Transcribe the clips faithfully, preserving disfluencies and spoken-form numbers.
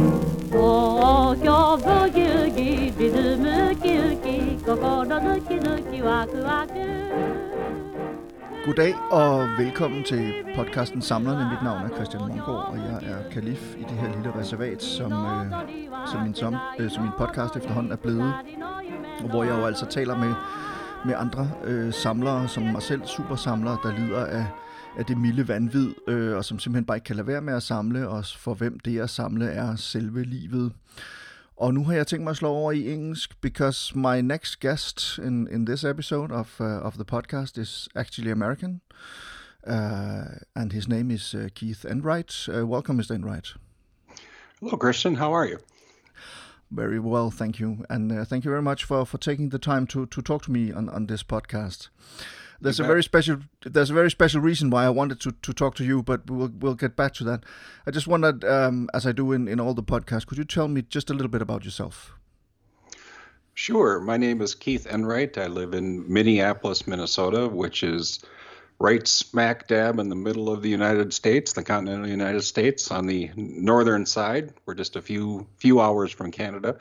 Goddag og velkommen til podcasten Samlerne. Mit navn er Christian Mongård, og jeg er kalif i det her lille reservat, som, øh, som, min, som, øh, som min podcast efterhånden er blevet. Hvor jeg jo altså taler med, med andre øh, samlere, som mig selv, supersamlere, der lider af, af det milde vanvid, øh, og som simpelthen bare ikke kan lade være med at samle, og for hvem det at samle er selve livet. Og nu har jeg tænkt mig at slå over i engelsk, because my next guest in, in this episode of, uh, of the podcast is actually American, uh, and his name is uh, Keith Enright. Uh, welcome, Mister Enright. Hello, Christian. How are you? Very well, thank you. And uh, thank you very much for, for taking the time to, to talk to me on, on this podcast. There's a very special there's a very special reason why I wanted to, to talk to you, but we'll we'll get back to that. I just wondered, um, as I do in, in all the podcasts, could you tell me just a little bit about yourself? Sure. My name is Keith Enright. I live in Minneapolis, Minnesota, which is right smack dab in the middle of the United States, the continental United States, on the northern side. We're just a few few hours from Canada.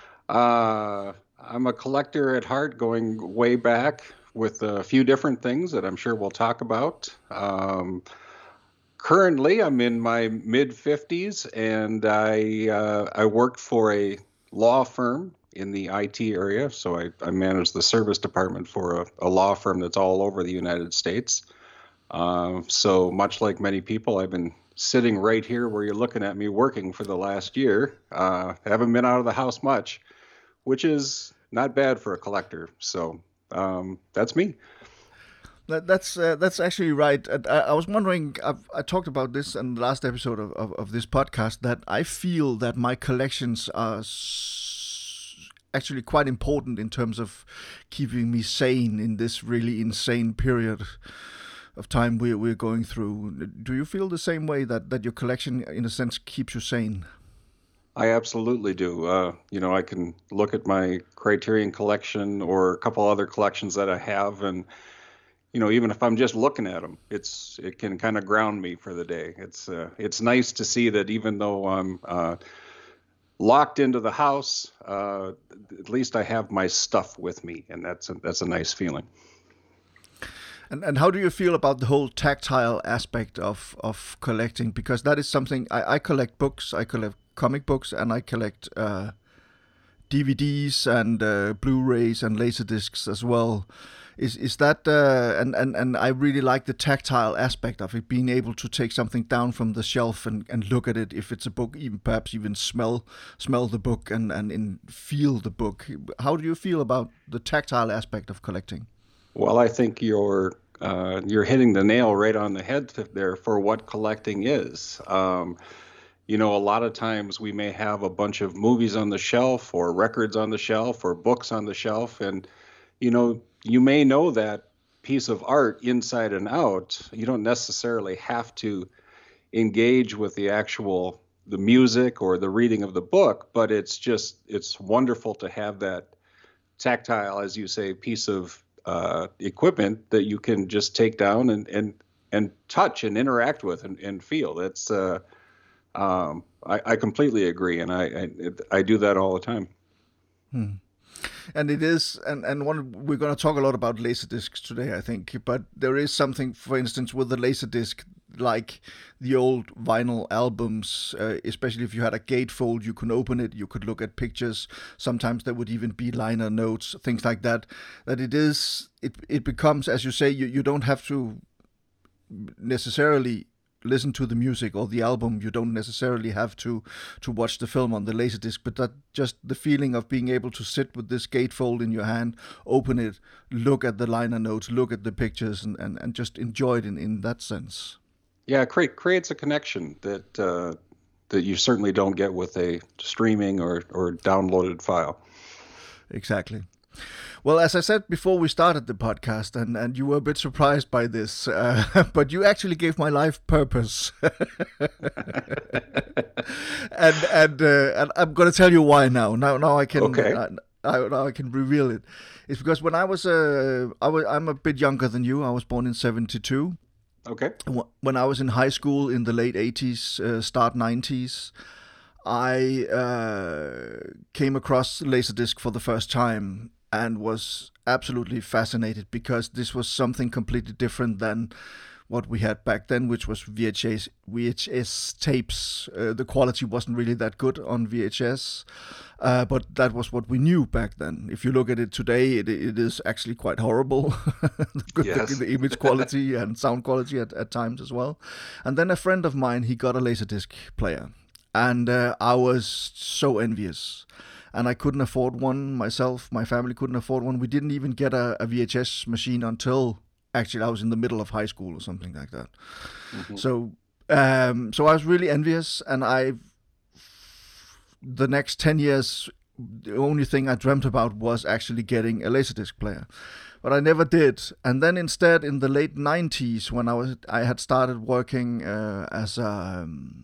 Uh, I'm a collector at heart, going way back, with a few different things that I'm sure we'll talk about. Um, currently, I'm in my mid-fifties, and I uh, I worked for a law firm in the I T area, so I, I manage the service department for a, a law firm that's all over the United States. Uh, so much like many people, I've been sitting right here where you're looking at me working for the last year. Uh, haven't been out of the house much, which is not bad for a collector. So Um, that's me. That, that's uh, that's actually right. And I, I was wondering, I've, I talked about this in the last episode of, of, of this podcast, that I feel that my collections are s- actually quite important in terms of keeping me sane in this really insane period of time we're, we're going through. Do you feel the same way, that, that your collection, in a sense, keeps you sane? I absolutely do. Uh, you know, I can look at my Criterion collection or a couple other collections that I have, and you know, even if I'm just looking at them, it's it can kind of ground me for the day. It's uh, it's nice to see that even though I'm uh, locked into the house, uh, at least I have my stuff with me, and that's a, that's a nice feeling. And and how do you feel about the whole tactile aspect of, of collecting? Because that is something, I, I collect books, I collect comic books, and I collect uh, D V Ds and uh, Blu-rays and Laserdiscs as well. Is is that, uh, and, and, and I really like the tactile aspect of it, being able to take something down from the shelf and, and look at it, if it's a book, even perhaps even smell smell the book and, and in, feel the book. How do you feel about the tactile aspect of collecting? Well, I think you're uh, you're hitting the nail right on the head there for what collecting is. Um, you know, a lot of times we may have a bunch of movies on the shelf, or records on the shelf, or books on the shelf, and you know, you may know that piece of art inside and out. You don't necessarily have to engage with the actual the music or the reading of the book, but it's just it's wonderful to have that tactile, as you say, piece of Uh, equipment that you can just take down and and, and touch and interact with and, and feel. That's uh, um, I, I completely agree, and I, I I do that all the time. Hmm. And it is, and and one we're going to talk a lot about Laserdiscs today, I think. But there is something, for instance, with the Laserdisc, like the old vinyl albums, uh, especially if you had a gatefold, you can open it, you could look at pictures. Sometimes there would even be liner notes, things like that. That it is, it it becomes, as you say, you, you don't have to necessarily listen to the music or the album. You don't necessarily have to to watch the film on the Laserdisc, but that just the feeling of being able to sit with this gatefold in your hand, open it, look at the liner notes, look at the pictures, and, and, and just enjoy it in, in that sense. Yeah, it create, creates a connection that uh, that you certainly don't get with a streaming or, or downloaded file. Exactly. Well, as I said before we started the podcast, and, and you were a bit surprised by this, uh, but you actually gave my life purpose. and and uh, and I'm going to tell you why now. Now now I can okay. uh, I, now I can reveal it. It's because when I was uh, I was I'm a bit younger than you. I was born in seventy-two. Okay. When I was in high school in the late eighties, uh, start nineties, I uh, came across Laserdisc for the first time and was absolutely fascinated, because this was something completely different than what we had back then, which was V H S V H S tapes. Uh, the quality wasn't really that good on V H S, uh, but that was what we knew back then. If you look at it today, it, it is actually quite horrible. the, yes. the, the image quality and sound quality at, at times as well. And then a friend of mine, he got a Laserdisc player, and uh, I was so envious. And I couldn't afford one myself. My family couldn't afford one. We didn't even get a, a V H S machine until actually I was in the middle of high school or something like that. Mm-hmm. So, um, so I was really envious, and I, the next ten years, the only thing I dreamt about was actually getting a Laserdisc player, but I never did. And then instead, in the late nineties, when I was, I had started working uh, as a um,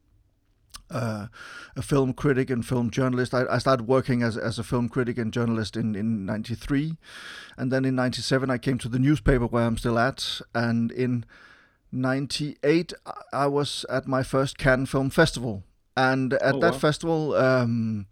Uh, a film critic and film journalist. I, I started working as as a film critic and journalist in, in ninety-three. And then in ninety-seven I came to the newspaper where I'm still at. And in ninety-eight I was at my first Cannes Film Festival. And at oh, that wow. festival, um,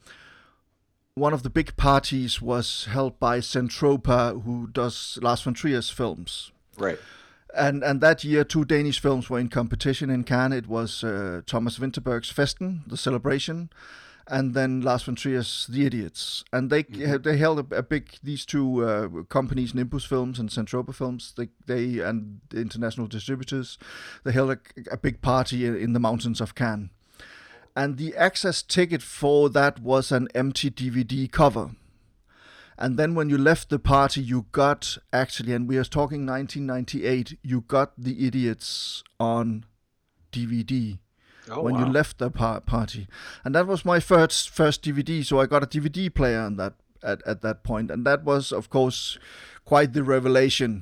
one of the big parties was held by Zentropa, who does Lars von Trier's films. Right. And and that year, two Danish films were in competition in Cannes. It was uh, Thomas Vinterberg's Festen, The Celebration, and then Lars von Trier's The Idiots. And they mm-hmm. they held a, a big, these two uh, companies, Nimbus Films and Zentropa Films, they, they and the international distributors, they held a, a big party in the mountains of Cannes. And the access ticket for that was an empty D V D cover. And then when you left the party, you got, actually, and we are talking nineteen ninety-eight, you got The Idiots on D V D oh, when wow. you left the par- party. And that was my first first D V D, so I got a D V D player on that at, at that point. And that was, of course, quite the revelation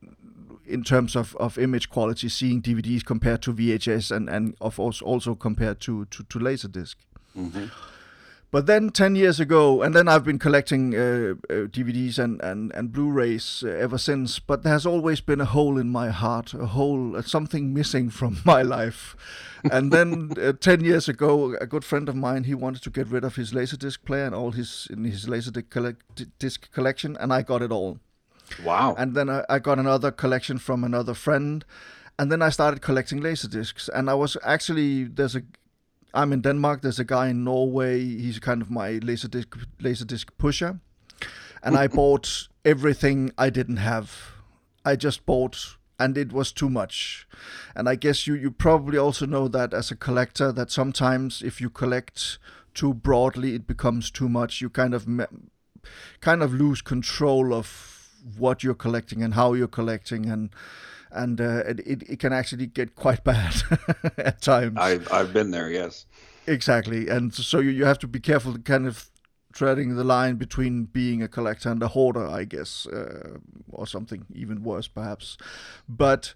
in terms of, of image quality, seeing D V Ds compared to V H S and, and of course also compared to, to, to Laserdisc. Mm-hmm. But then ten years ago, and then I've been collecting uh, uh, D V Ds and, and, and Blu-rays uh, ever since, but there's always been a hole in my heart, a hole, uh, something missing from my life. And then uh, ten years ago, a good friend of mine, he wanted to get rid of his Laserdisc player and all his in his Laserdisc collect- disc collection, and I got it all. Wow. And then I, I got another collection from another friend, and then I started collecting Laserdiscs. And I was actually, there's a I'm in Denmark. There's a guy in Norway. He's kind of my Laserdisc Laserdisc pusher, and I bought everything I didn't have. I just bought, and it was too much. And I guess you you probably also know that as a collector, that sometimes if you collect too broadly, it becomes too much. You kind of me- kind of lose control of what you're collecting and how you're collecting, and. And uh, it it can actually get quite bad at times. I've I've been there, yes. Exactly, and so you, you have to be careful, kind of treading the line between being a collector and a hoarder, I guess, uh, or something even worse, perhaps. But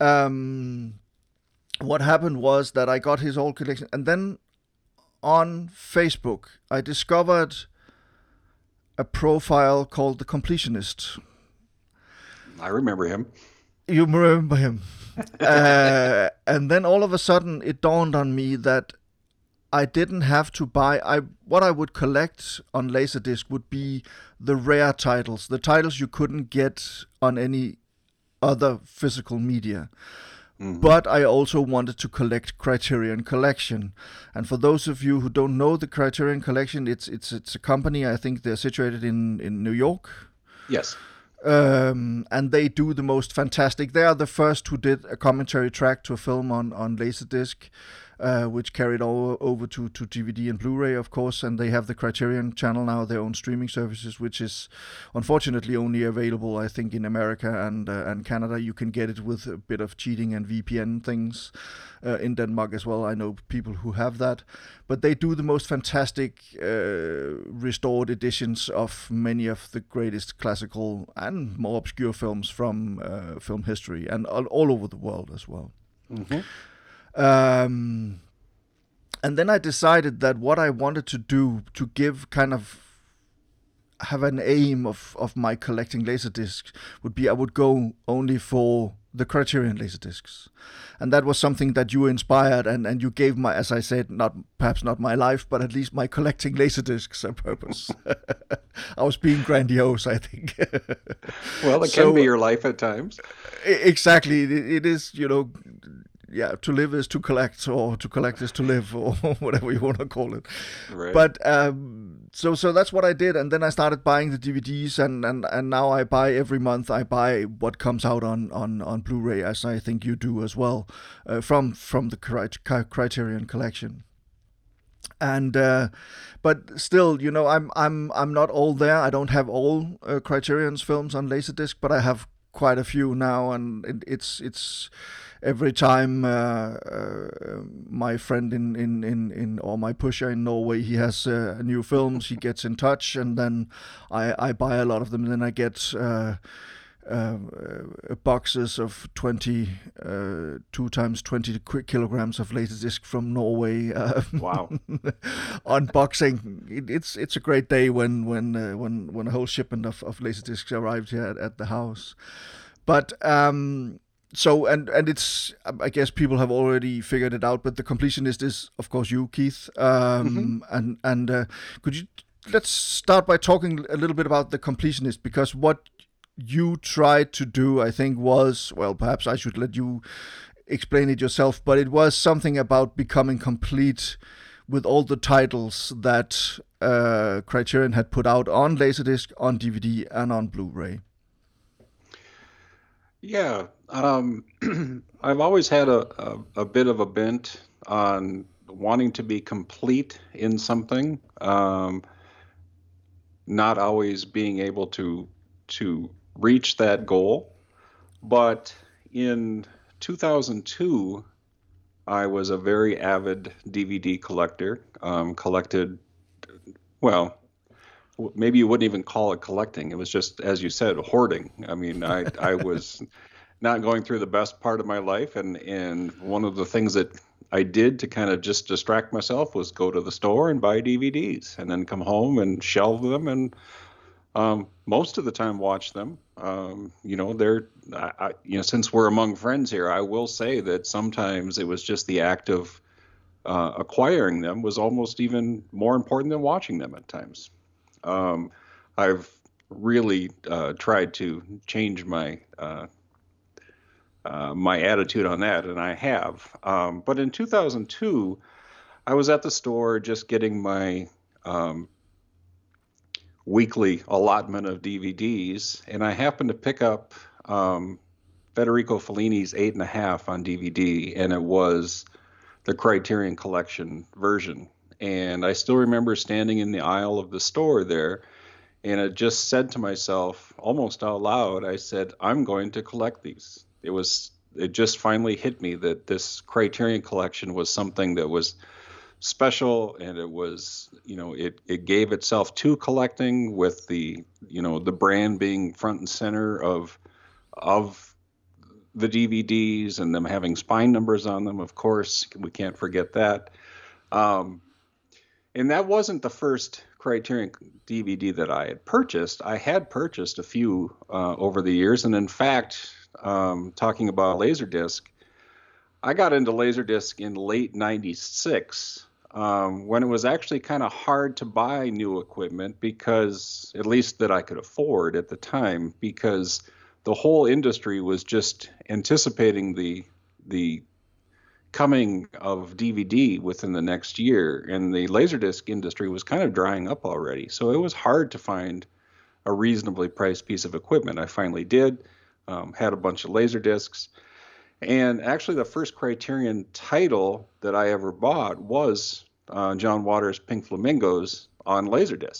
um, what happened was that I got his old collection, and then on Facebook I discovered a profile called The Completionist. I remember him. You remember him. uh, and then all of a sudden it dawned on me that I didn't have to buy, I what I would collect on Laserdisc would be the rare titles, the titles you couldn't get on any other physical media. Mm-hmm. But I also wanted to collect Criterion Collection. And for those of you who don't know the Criterion Collection, it's it's it's a company, I think they're situated in, in New York. Yes. Um, and they do the most fantastic. They are the first who did a commentary track to a film on, on Laserdisc, uh, which carried all over to, to D V D and Blu-ray, of course. And they have the Criterion Channel now, their own streaming services, which is unfortunately only available, I think, in America and uh, and Canada. You can get it with a bit of cheating and V P N things uh, in Denmark as well. I know people who have that. But they do the most fantastic uh, restored editions of many of the greatest classical and more obscure films from uh, film history, and all, all over the world as well. Mm-hmm. Um, and then I decided that what I wanted to do to give kind of have an aim of, of my collecting Laserdiscs would be I would go only for the Criterion Laserdiscs. And that was something that you inspired, and, and you gave my, as I said, not perhaps not my life, but at least my collecting Laserdiscs a purpose. I was being grandiose, I think. Well, it so, can be your life at times. Exactly. It, it is, you know, yeah, to live is to collect, or to collect is to live, or whatever you want to call it. Right. But um, so so that's what I did, and then I started buying the D V Ds, and, and, and now I buy every month. I buy what comes out on, on, on Blu-ray, as I think you do as well, uh, from from the Criterion Collection. And uh, but still, you know, I'm I'm I'm not all there. I don't have all uh, Criterion's films on Laserdisc, but I have quite a few now, and it, it's it's. Every time uh, uh, my friend in, in, in, in or my pusher in Norway, he has uh, new films, he gets in touch, and then I, I buy a lot of them. And then I get uh, uh, uh, boxes of twenty, uh, two times twenty kilograms of Laserdisc from Norway. Uh, wow! Unboxing. It, it's it's a great day when when uh, when when a whole shipment of of Laserdiscs arrived here at, at the house. But um, So, and, and it's, I guess people have already figured it out, but the completionist is, of course, you, Keith. Um, mm-hmm. And, and uh, could you, let's start by talking a little bit about the completionist, because what you tried to do, I think, was, well, perhaps I should let you explain it yourself, but it was something about becoming complete with all the titles that uh, Criterion had put out on Laserdisc, on D V D, and on Blu-ray. Yeah, um, I've always had a, a, a bit of a bent on wanting to be complete in something, um, not always being able to to reach that goal. But in two thousand two, I was a very avid D V D collector, um, collected, well, maybe you wouldn't even call it collecting. It was just, as you said, hoarding. I mean, I, I was not going through the best part of my life. And, and one of the things that I did to kind of just distract myself was go to the store and buy D V Ds and then come home and shelve them. And um, most of the time watch them. Um, you know, they're, I, I, you know, since we're among friends here, I will say that sometimes it was just the act of uh, acquiring them was almost even more important than watching them at times. Um, I've really uh, tried to change my uh, uh, my attitude on that, and I have. Um, but in two thousand two, I was at the store just getting my um, weekly allotment of D V Ds, and I happened to pick up um, Federico Fellini's Eight and a Half on D V D, and it was the Criterion Collection version. And I still remember standing in the aisle of the store there, and I just said to myself, almost out loud, I said, I'm going to collect these. It was, it just finally hit me that this Criterion Collection was something that was special, and it was, you know, it, it gave itself to collecting, with the, you know, the brand being front and center of, of the D V Ds, and them having spine numbers on them. Of course, we can't forget that. Um, And that wasn't the first Criterion D V D that I had purchased. I had purchased a few uh, over the years. And in fact, um, talking about Laserdisc, I got into Laserdisc in late ninety-six, um, when it was actually kind of hard to buy new equipment, because, at least that I could afford at the time, because the whole industry was just anticipating the the coming of D V D within the next year, and the Laserdisc industry was kind of drying up already. So it was hard to find a reasonably priced piece of equipment. I finally did, um, had a bunch of Laserdiscs, and actually the first Criterion title that I ever bought was uh, John Waters' Pink Flamingos on Laserdisc.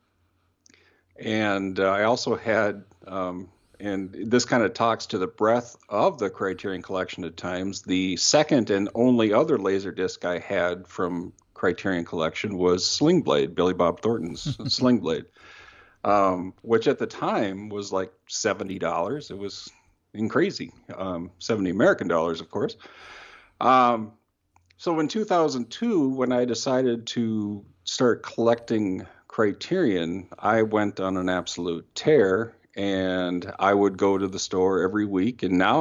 And uh, I also had, um, and this kind of talks to the breadth of the Criterion Collection at times, the second and only other Laserdisc I had from Criterion Collection was Sling Blade, Billy Bob Thornton's Sling Blade, um, which at the time was like seventy dollars. It was crazy, um, seventy American dollars, of course. Um, so in two thousand two, when I decided to start collecting Criterion, I went on an absolute tear. And I would go to the store every week. And now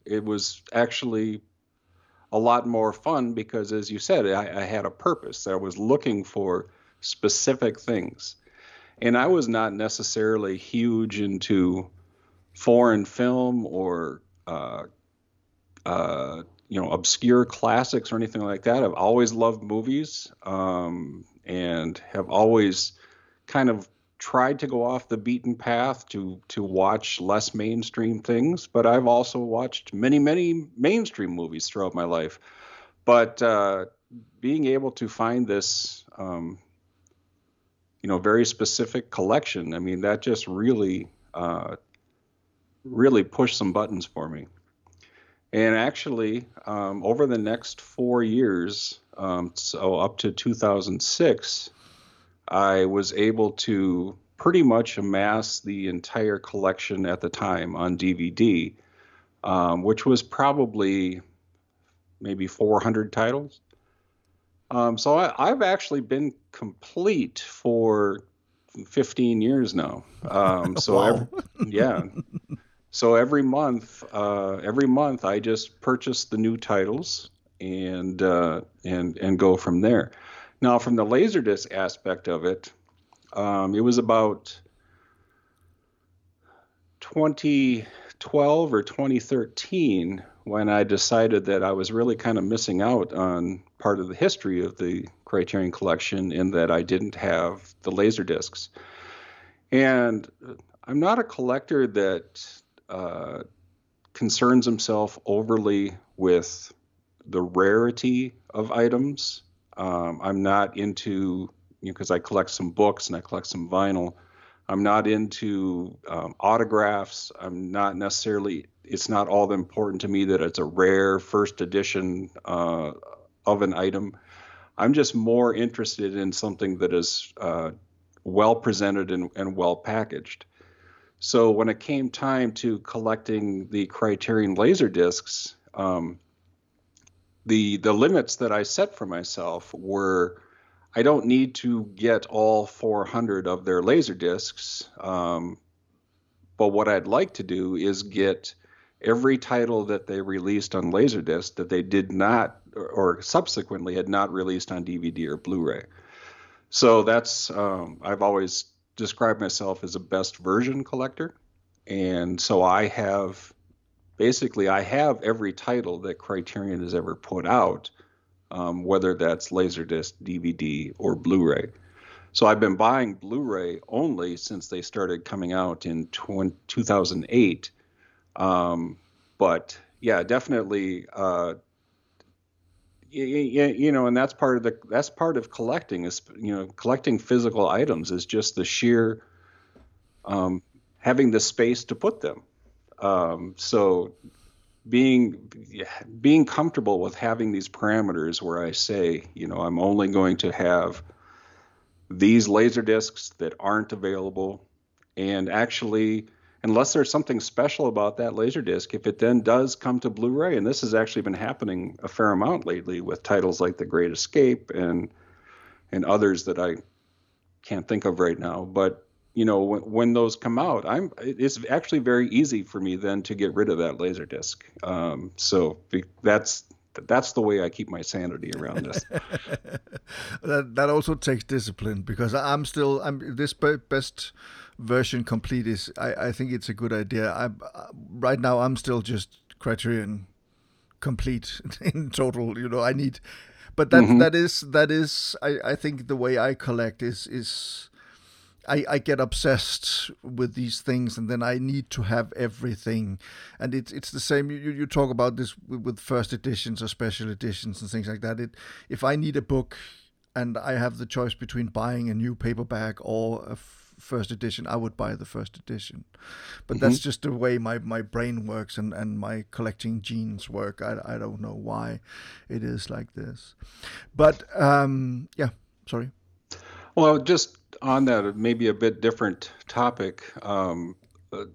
it was actually a lot more fun because, as you said, I, I had a purpose. I was looking for specific things. And I was not necessarily huge into foreign film or, uh, uh, you know, obscure classics or anything like that. I've always loved movies, um, and have always kind of tried to go off the beaten path to to watch less mainstream things. But I've also watched many, many mainstream movies throughout my life. But uh, being able to find this, um, you know, very specific collection, I mean, that just really, uh, really pushed some buttons for me. And actually, um, over the next four years, um, so up to two thousand six, I was able to pretty much amass the entire collection at the time on D V D, um, which was probably maybe four hundred titles. Um, so I, I've actually been complete for fifteen years now. Um, so Wow. every, yeah. So every month, uh, every month I just purchase the new titles and uh, and and go from there. Now, from the Laserdisc aspect of it, um, it was about twenty twelve or twenty thirteen when I decided that I was really kind of missing out on part of the history of the Criterion Collection in that I didn't have the Laserdiscs. And I'm not a collector that uh, concerns himself overly with the rarity of items. Um, I'm not into, you know, because I collect some books and I collect some vinyl. I'm not into um, autographs. I'm not necessarily, it's not all that important to me that it's a rare first edition uh, of an item. I'm just more interested in something that is uh, well presented and, and well packaged. So when it came time to collecting the Criterion Laserdiscs, um, the the limits that I set for myself were, I don't need to get all four hundred of their Laserdiscs, um, but what I'd like to do is get every title that they released on Laserdisc that they did not, or, or subsequently had not released on D V D or Blu-ray. So that's, um, I've always described myself as a best version collector. And so I have, basically I have every title that Criterion has ever put out, um, whether that's Laserdisc, D V D, or Blu-ray. So I've been buying Blu-ray only since they started coming out in two thousand eight. Um, but yeah, definitely, uh, you, you know, and that's part of the, that's part of collecting is, you know, collecting physical items is just the sheer, um, having the space to put them. Um, so being, being comfortable with having these parameters where I say, you know, I'm only going to have these Laserdiscs that aren't available, and actually, unless there's something special about that Laserdisc, if it then does come to Blu-ray, and this has actually been happening a fair amount lately with titles like The Great Escape and and others that I can't think of right now, but you know, when, when those come out, I'm it's actually very easy for me then to get rid of that Laserdisc. Um, so that's that's the way I keep my sanity around this. that that also takes discipline, because I'm still I'm this best version complete is I, I think it's a good idea. I right now I'm still just Criterion complete in total. You know, I need, but that mm-hmm. that is that is I, I think the way I collect is is. I, I get obsessed with these things, and then I need to have everything. And it's it's the same. You you talk about this with first editions or special editions and things like that. It if I need a book and I have the choice between buying a new paperback or a f- first edition, I would buy the first edition. But mm-hmm. that's just the way my, my brain works and, and my collecting genes work. I, I don't know why it is like this. But um, yeah, sorry. Well, just on that, maybe a bit different topic. Um, uh,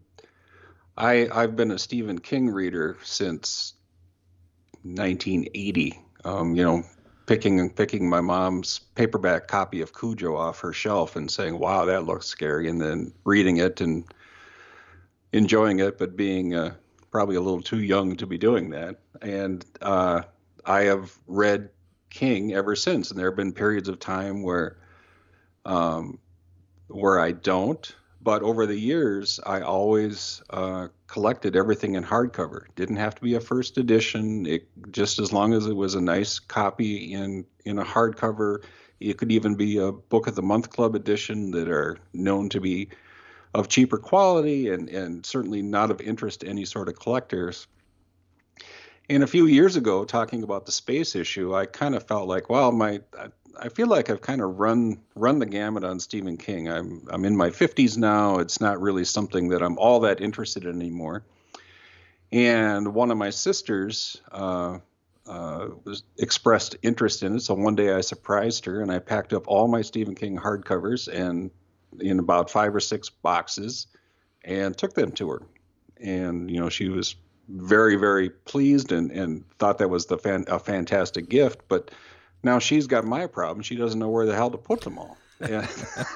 I I've been a Stephen King reader since nineteen eighty. Um, you know, picking picking my mom's paperback copy of Cujo off her shelf and saying, "Wow, that looks scary," and then reading it and enjoying it, but being uh, probably a little too young to be doing that. And uh, I have read King ever since, and there have been periods of time where um, where I don't. But over the years, I always uh, collected everything in hardcover. Didn't have to be a first edition. It, just as long as it was a nice copy in in a hardcover. It could even be a Book of the Month Club edition that are known to be of cheaper quality and, and certainly not of interest to any sort of collectors. And a few years ago, talking about the space issue, I kind of felt like, well, my I, I feel like I've kind of run run the gamut on Stephen King. I'm I'm in my fifties now. It's not really something that I'm all that interested in anymore. And one of my sisters uh, uh, was expressed interest in it. So one day I surprised her and I packed up all my Stephen King hardcovers and in about five or six boxes and took them to her. And, you know, she was very, very pleased and, and thought that was the fan, a fantastic gift. But now she's got my problem. She doesn't know where the hell to put them all. And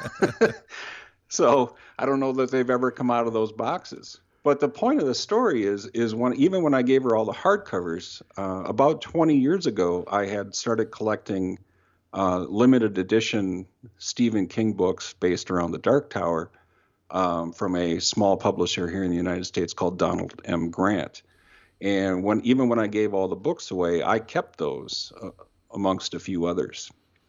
so I don't know that they've ever come out of those boxes. But the point of the story is, is when even when I gave her all the hardcovers, uh, about twenty years ago, I had started collecting uh, limited edition Stephen King books based around the Dark Tower um, from a small publisher here in the United States called Donald M. Grant. And when even when I gave all the books away, I kept those uh, amongst a few others.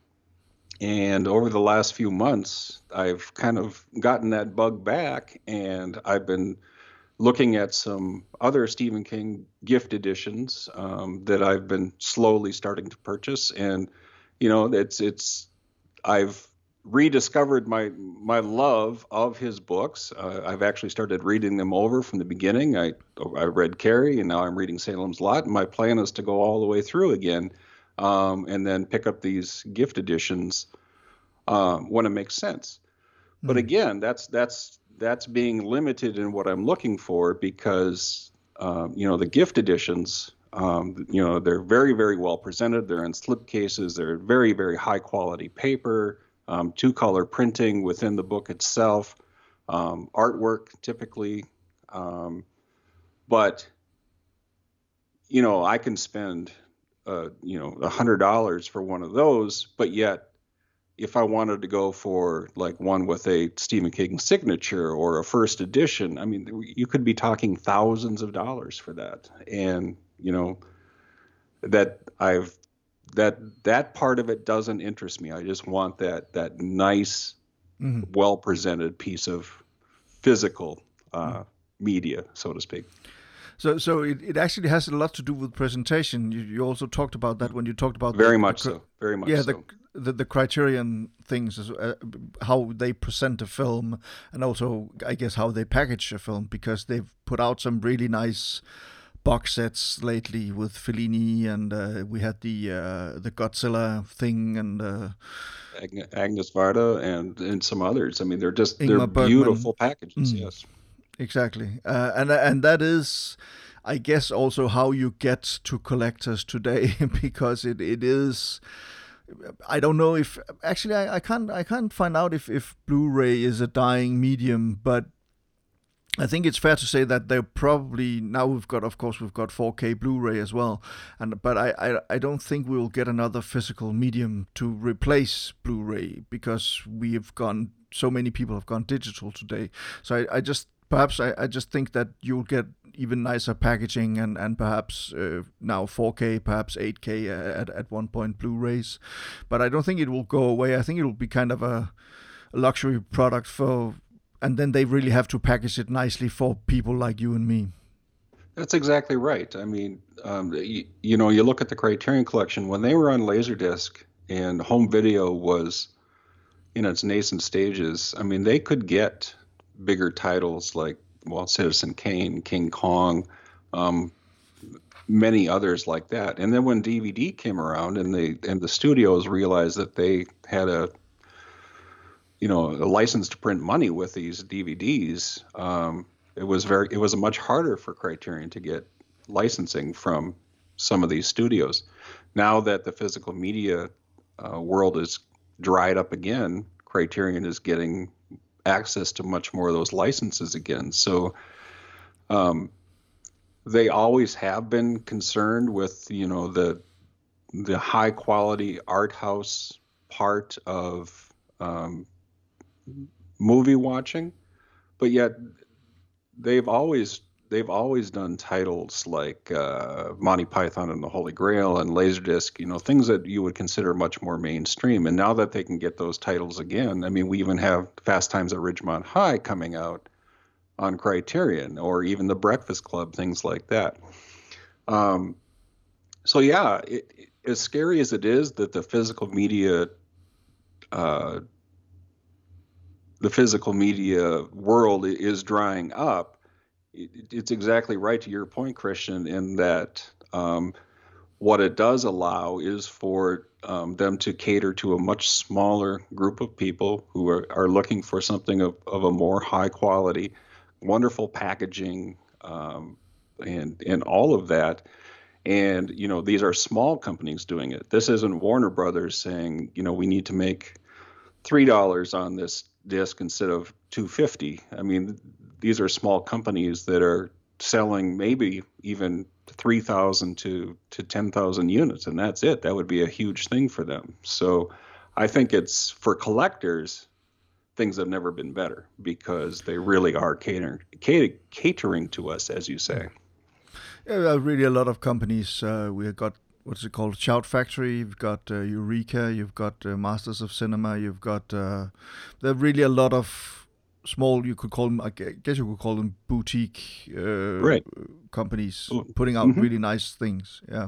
And over the last few months, I've kind of gotten that bug back, and I've been looking at some other Stephen King gift editions um, that I've been slowly starting to purchase. And, you know, it's, it's, I've rediscovered my, my love of his books. Uh, I've actually started reading them over from the beginning. I, I read Carrie, and now I'm reading Salem's Lot. And my plan is to go all the way through again um, and then pick up these gift editions um, when it makes sense. Mm. But again, that's, that's, that's being limited in what I'm looking for because, um, you know, the gift editions, um, you know, they're very, very well presented. They're in slipcases. They're very, very high quality paper, um, two color printing within the book itself, um, artwork typically. Um, but, you know, I can spend, uh, you know, a hundred dollars for one of those, but yet, if I wanted to go for like one with a Stephen King signature or a first edition, I mean, you could be talking thousands of dollars for that. And, you know, that I've, that, that part of it doesn't interest me. I just want that, that nice, mm-hmm. well-presented piece of physical uh, mm-hmm. media, so to speak. So, so it, it actually has a lot to do with presentation. You, you also talked about that when you talked about very the, much the, so, very much yeah, so. The, the the Criterion things, uh, how they present a film, and also I guess how they package a film, because they've put out some really nice box sets lately with Fellini, and uh, we had the uh, the Godzilla thing, and uh, Agnes Varda, and and some others. I mean, they're just Ingmar they're Bergman. beautiful packages. Mm. Yes. Exactly, uh, and and that is, I guess, also how you get to collectors today, because it, it is. I don't know if actually I, I can't I can't find out if, if Blu-ray is a dying medium, but I think it's fair to say that they're probably now we've got of course we've got four K Blu-ray as well, and but I, I, I don't think we'll get another physical medium to replace Blu-ray, because we've gone so many people have gone digital today. So I, I just perhaps I, I just think that you'll get even nicer packaging and, and perhaps uh, now four K, perhaps eight K at, at one point Blu-rays. But I don't think it will go away. I think it will be kind of a, a luxury product for, and then they really have to package it nicely for people like you and me. That's exactly right. I mean, um, you, you know, you look at the Criterion Collection, when they were on Laserdisc and home video was in its nascent stages, I mean, they could get bigger titles like, well, Citizen Kane, King Kong, um, many others like that. And then when D V D came around, and they and the studios realized that they had a, you know, a license to print money with these D V Ds, um, it was very it was much harder for Criterion to get licensing from some of these studios. Now that the physical media uh, world is dried up again, Criterion is getting access to much more of those licenses again. So, um, they always have been concerned with, you know, the the high quality art house part of um, movie watching, but yet they've always they've always done titles like uh, Monty Python and the Holy Grail and Laserdisc, you know, things that you would consider much more mainstream. And now that they can get those titles again, I mean, we even have Fast Times at Ridgemont High coming out on Criterion, or even The Breakfast Club, things like that. Um, so yeah, it, it, as scary as it is that the physical media, uh, the physical media world is drying up, it, it's exactly right to your point, Christian, in that um, what it does allow is for um, them to cater to a much smaller group of people who are, are looking for something of, of a more high quality, wonderful packaging, um, and and all of that. And, you know, these are small companies doing it. This isn't Warner Brothers saying, you know, we need to make three dollars on this disc instead of two fifty. I mean, these are small companies that are selling maybe even three thousand to to ten thousand units, and that's it. That would be a huge thing for them. So I think it's, for collectors, things have never been better, because they really are catering catering, catering to us, as you say. Yeah, really a lot of companies. Uh, we've got, what's it called, Shout Factory, you've got uh, Eureka, you've got uh, Masters of Cinema, you've got, uh, there are really a lot of small, you could call them, I guess you could call them boutique uh, right. companies putting out mm-hmm. really nice things. Yeah.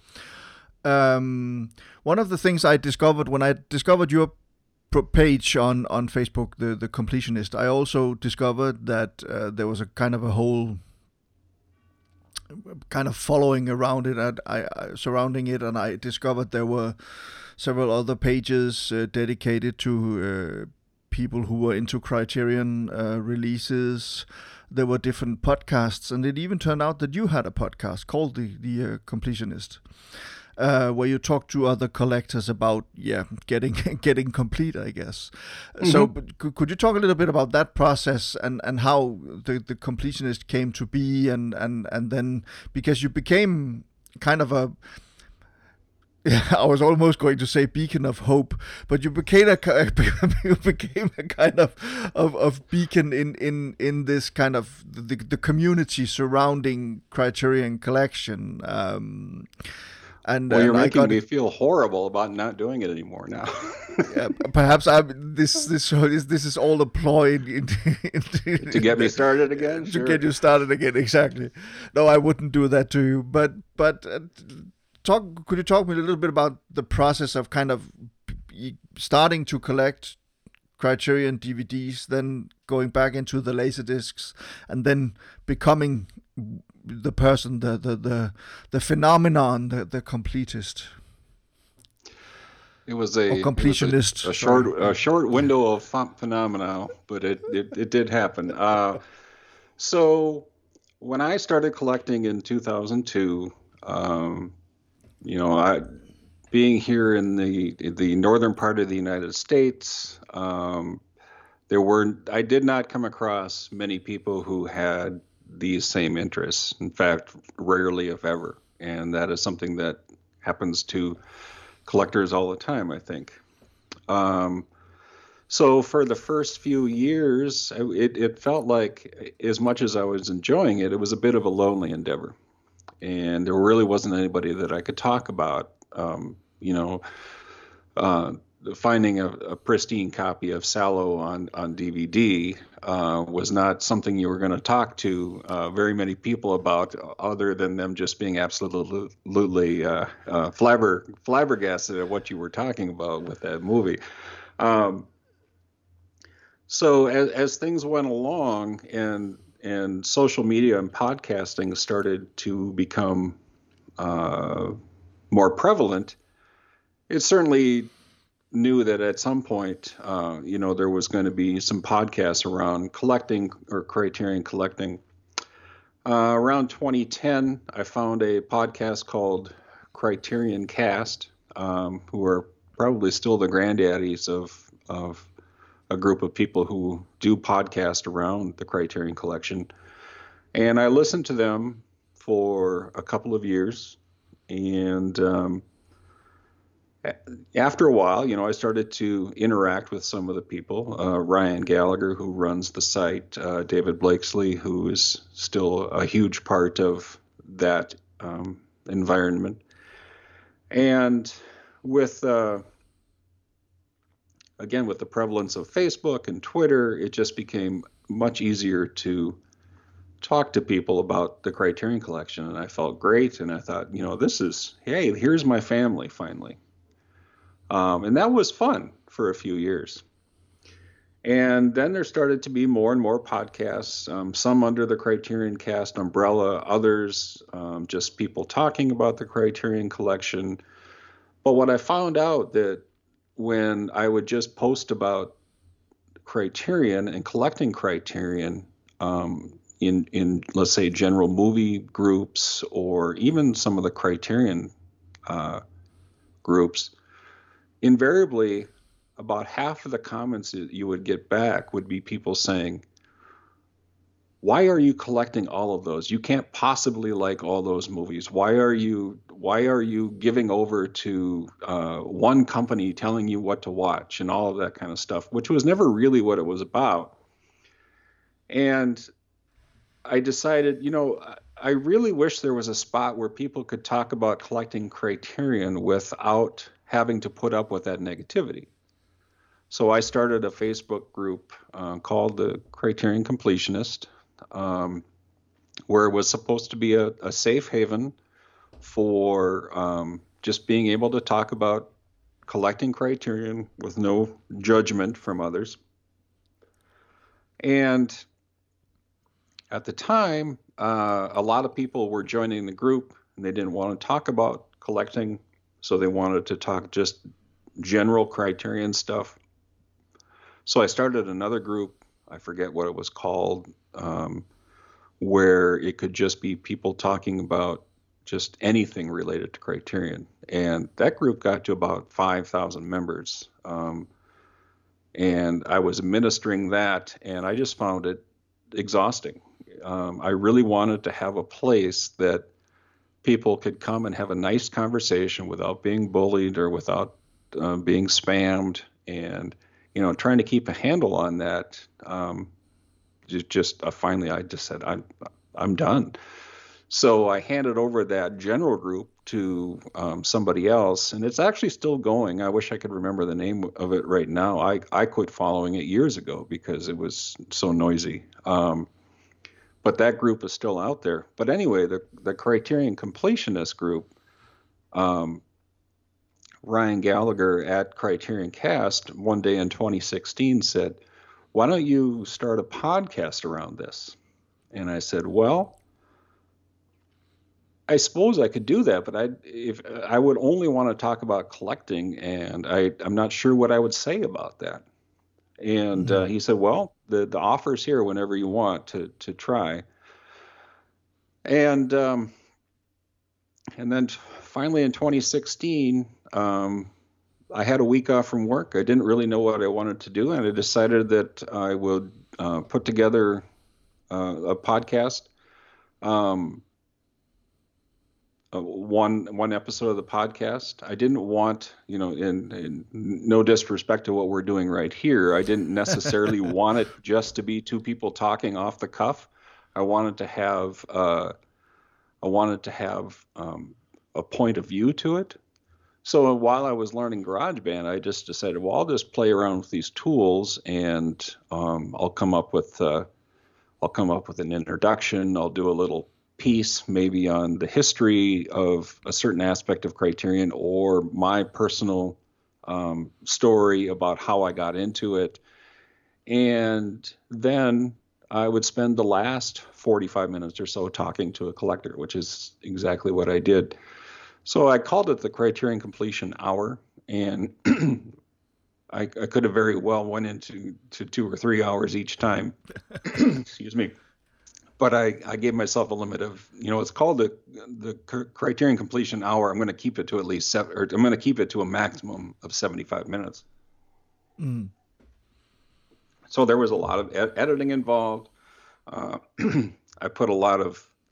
Um, one of the things I discovered when I discovered your page on, on Facebook, the, the Completionist, I also discovered that uh, there was a kind of a whole kind of following around it and I, I surrounding it, and I discovered there were several other pages uh, dedicated to uh, people who were into Criterion uh, releases. There were different podcasts, and it even turned out that you had a podcast called the the uh, Completionist, uh, where you talk to other collectors about yeah getting getting complete, I guess. Mm-hmm. So, but could you talk a little bit about that process and, and how the, the Completionist came to be, and, and, and then because you became kind of a, yeah, I was almost going to say beacon of hope, but you became a you became a kind of of, of beacon in, in, in this kind of the, the community surrounding Criterion Collection. Um, And, well, you're and making I got, me feel horrible about not doing it anymore now. yeah, perhaps I this this is this is all a ploy in, in, in, to get me started again. To sure. get you started again, exactly. No, I wouldn't do that to you. But but uh, talk. Could you talk me a little bit about the process of kind of starting to collect Criterion D V Ds, then going back into the Laserdiscs, and then becoming the person, the the the, the phenomenon, the, the completist. It was a, or completionist. It was a, a short a short window of phenomena, but it it, it did happen. Uh, so when I started collecting in two thousand two, um, you know, I being here in the in the northern part of the United States, um, there were I did not come across many people who had these same interests. In fact, rarely, if ever. And that is something that happens to collectors all the time, I think. Um, so for the first few years, it, it felt like, as much as I was enjoying it, it was a bit of a lonely endeavor. And there really wasn't anybody that I could talk about, um, you know, uh, finding a, a pristine copy of Sallow on, on D V D uh, was not something you were going to talk to uh, very many people about, other than them just being absolutely uh, uh, flabber, flabbergasted at what you were talking about with that movie. Um, so as, as things went along, and and social media and podcasting started to become uh, more prevalent, it certainly knew that at some point, uh, you know, there was going to be some podcasts around collecting or Criterion collecting. Uh, around twenty ten, I found a podcast called Criterion Cast, um, who are probably still the granddaddies of of a group of people who do podcast around the Criterion Collection. And I listened to them for a couple of years. And um, after a while, you know, I started to interact with some of the people. Uh, Ryan Gallagher, who runs the site, uh, David Blakesley, who is still a huge part of that um, environment. And with, uh, again, with the prevalence of Facebook and Twitter, it just became much easier to talk to people about the Criterion Collection. And I felt great. And I thought, you know, this is, hey, here's my family finally. Um, and that was fun for a few years. And then there started to be more and more podcasts, um, some under the Criterion Cast umbrella, others um, just people talking about the Criterion Collection. But what I found out that when I would just post about Criterion and collecting Criterion um, in, in, let's say, general movie groups or even some of the Criterion uh, groups, invariably, about half of the comments that you would get back would be people saying, why are you collecting all of those? You can't possibly like all those movies. Why are you why are you giving over to uh, one company telling you what to watch and all of that kind of stuff, which was never really what it was about. And I decided, you know, I really wish there was a spot where people could talk about collecting Criterion without having to put up with that negativity. So I started a Facebook group uh, called the Criterion Completionist, um, where it was supposed to be a, a safe haven for um, just being able to talk about collecting Criterion with no judgment from others. And at the time, uh, a lot of people were joining the group and they didn't want to talk about collecting, so they wanted to talk just general Criterion stuff. So I started another group, I forget what it was called, um, where it could just be people talking about just anything related to Criterion. And that group got to about five thousand members. Um, and I was administering that, and I just found it exhausting. Um, I really wanted to have a place that people could come and have a nice conversation without being bullied or without uh, being spammed. And you know, trying to keep a handle on that, um, just, just uh, finally, I just said, I'm, I'm done. So I handed over that general group to um, somebody else, and it's actually still going. I wish I could remember the name of it right now. I, I quit following it years ago because it was so noisy. Um, but that group is still out there. But anyway, the, the Criterion Completionist group, um, Ryan Gallagher at Criterion Cast one day in twenty sixteen said, why don't you start a podcast around this? And I said, well, I suppose I could do that, but I if I would only want to talk about collecting, and I, I'm not sure what I would say about that. And mm-hmm. uh, he said, well, the, the offer's here whenever you want to to try. And um, and then finally in twenty sixteen, um, I had a week off from work. I didn't really know what I wanted to do, and I decided that I would uh, put together uh, a podcast, um, uh, one one episode of the podcast. I didn't want, you know, in, in no disrespect to what we're doing right here, I didn't necessarily want it just to be two people talking off the cuff. I wanted to have uh, I wanted to have um, a point of view to it. So while I was learning GarageBand, I just decided, well, I'll just play around with these tools, and um, I'll come up with uh, I'll come up with an introduction. I'll do a little piece maybe on the history of a certain aspect of Criterion, or my personal um, story about how I got into it, and then I would spend the last forty-five minutes or so talking to a collector, which is exactly what I did. So I called it the Criterion Completion Hour, and I, I could have very well went into to two or three hours each time. Excuse me. But I, I gave myself a limit of, you know, it's called the the Criterion Completion Hour. I'm going to keep it to at least seven, or I'm going to keep it to a maximum of seventy-five minutes. Mm. So there was a lot of ed- editing involved. Uh, I put a lot of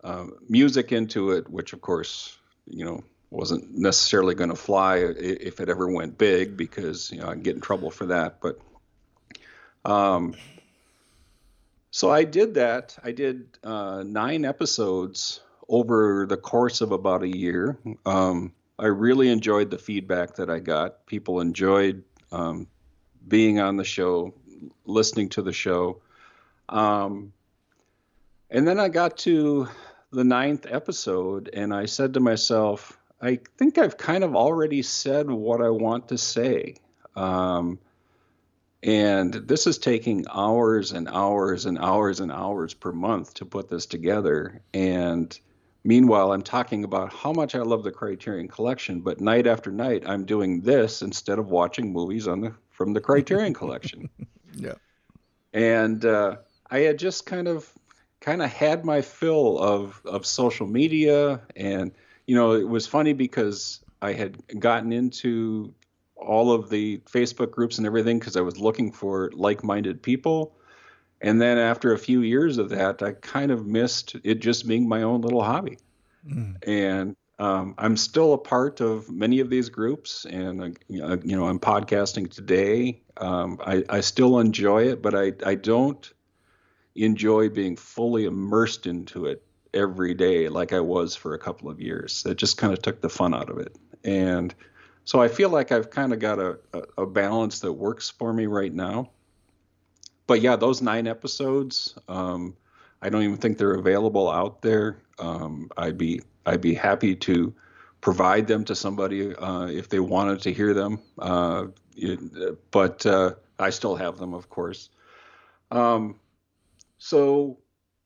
uh, music into it, which of course, you know, wasn't necessarily going to fly if it ever went big, because, you know, I'd get in trouble for that. But um, so I did that. I did uh, nine episodes over the course of about a year. Um, I really enjoyed the feedback that I got. People enjoyed um, being on the show, listening to the show. Um, and then I got to the ninth episode, and I said to myself, I think I've kind of already said what I want to say. Um, and this is taking hours and hours and hours and hours per month to put this together. And meanwhile, I'm talking about how much I love the Criterion Collection, but night after night, I'm doing this instead of watching movies on the from the Criterion Collection. Yeah. And uh, I had just kind of kind of had my fill of of social media. And, you know, it was funny because I had gotten into all of the Facebook groups and everything because I was looking for like-minded people. And then after a few years of that, I kind of missed it just being my own little hobby. Mm. And um, I'm still a part of many of these groups, and uh, you know, I'm podcasting today. Um, I, I still enjoy it, but I, I don't enjoy being fully immersed into it every day like I was for a couple of years. It just kind of took the fun out of it. And so I feel like I've kind of got a, a, a balance that works for me right now. But yeah, those nine episodes, um, I don't even think they're available out there. Um, I'd be I'd be happy to provide them to somebody uh, if they wanted to hear them. Uh, it, but uh, I still have them, of course. Um, so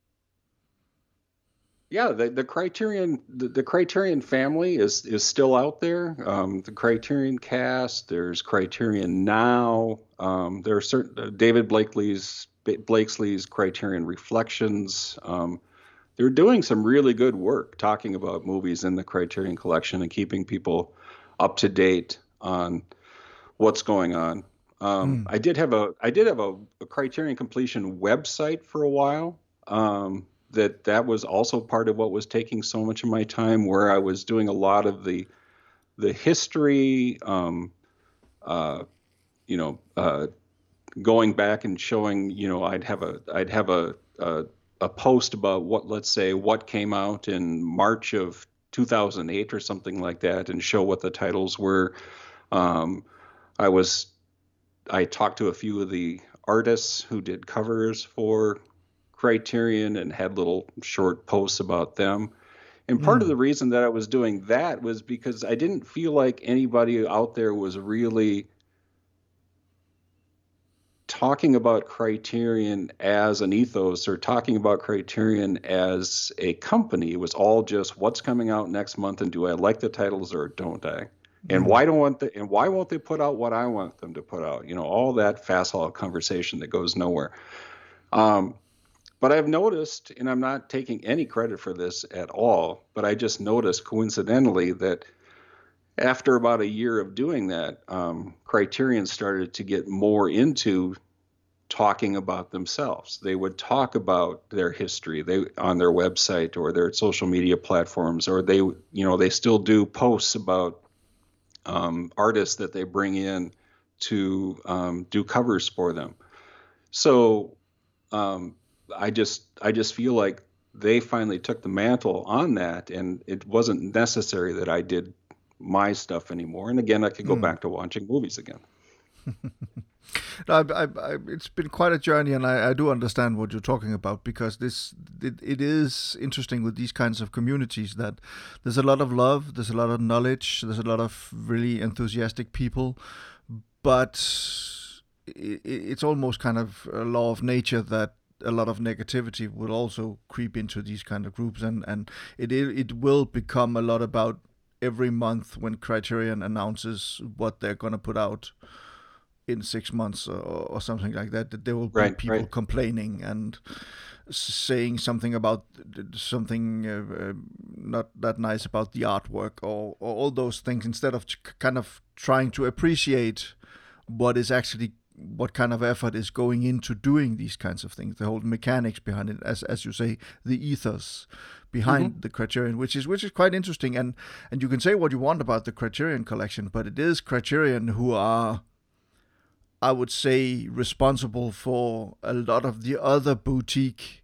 yeah, the, the Criterion the, the Criterion family is is still out there. Um, the Criterion Cast, there's Criterion Now. Um, there are certain uh, David Blakely's Blakesley's Criterion Reflections. Um, they're doing some really good work talking about movies in the Criterion Collection and keeping people up to date on what's going on. Um, mm. I did have a I did have a, a Criterion Completion website for a while. Um, that that was also part of what was taking so much of my time, where I was doing a lot of the the history, um, uh, you know, uh, going back and showing, you know, I'd have a I'd have a, a a post about what, let's say, what came out in March of two thousand eight or something like that, and show what the titles were. Um, I was I talked to a few of the artists who did covers for Criterion and had little short posts about them. And part mm. of the reason that I was doing that was because I didn't feel like anybody out there was really talking about Criterion as an ethos or talking about Criterion as a company. It was all just what's coming out next month, and do I like the titles or don't I? And mm. why don't want the, and why won't they put out what I want them to put out? You know, all that fast hall conversation that goes nowhere. Um, But I've noticed, and I'm not taking any credit for this at all, but I just noticed coincidentally that after about a year of doing that, um, Criterion started to get more into talking about themselves. They would talk about their history they on their website or their social media platforms, or they, you know, they still do posts about um, artists that they bring in to um, do covers for them. So um, I just I just feel like they finally took the mantle on that, and it wasn't necessary that I did my stuff anymore. And again, I could go mm. back to watching movies again. No, I, I, I, it's been quite a journey, and I, I do understand what you're talking about, because this it, it is interesting with these kinds of communities that there's a lot of love, there's a lot of knowledge, there's a lot of really enthusiastic people, but it, it's almost kind of a law of nature that a lot of negativity will also creep into these kind of groups, and, and it it will become a lot about every month when Criterion announces what they're going to put out in six months or, or something like that, that there will be right, people right. complaining and saying something about something uh, uh, not that nice about the artwork or, or all those things, instead of kind of trying to appreciate what is actually what kind of effort is going into doing these kinds of things, the whole mechanics behind it, as as you say, the ethos behind mm-hmm. the Criterion, which is which is quite interesting. And and you can say what you want about the Criterion collection, but it is Criterion who are, I would say, responsible for a lot of the other boutique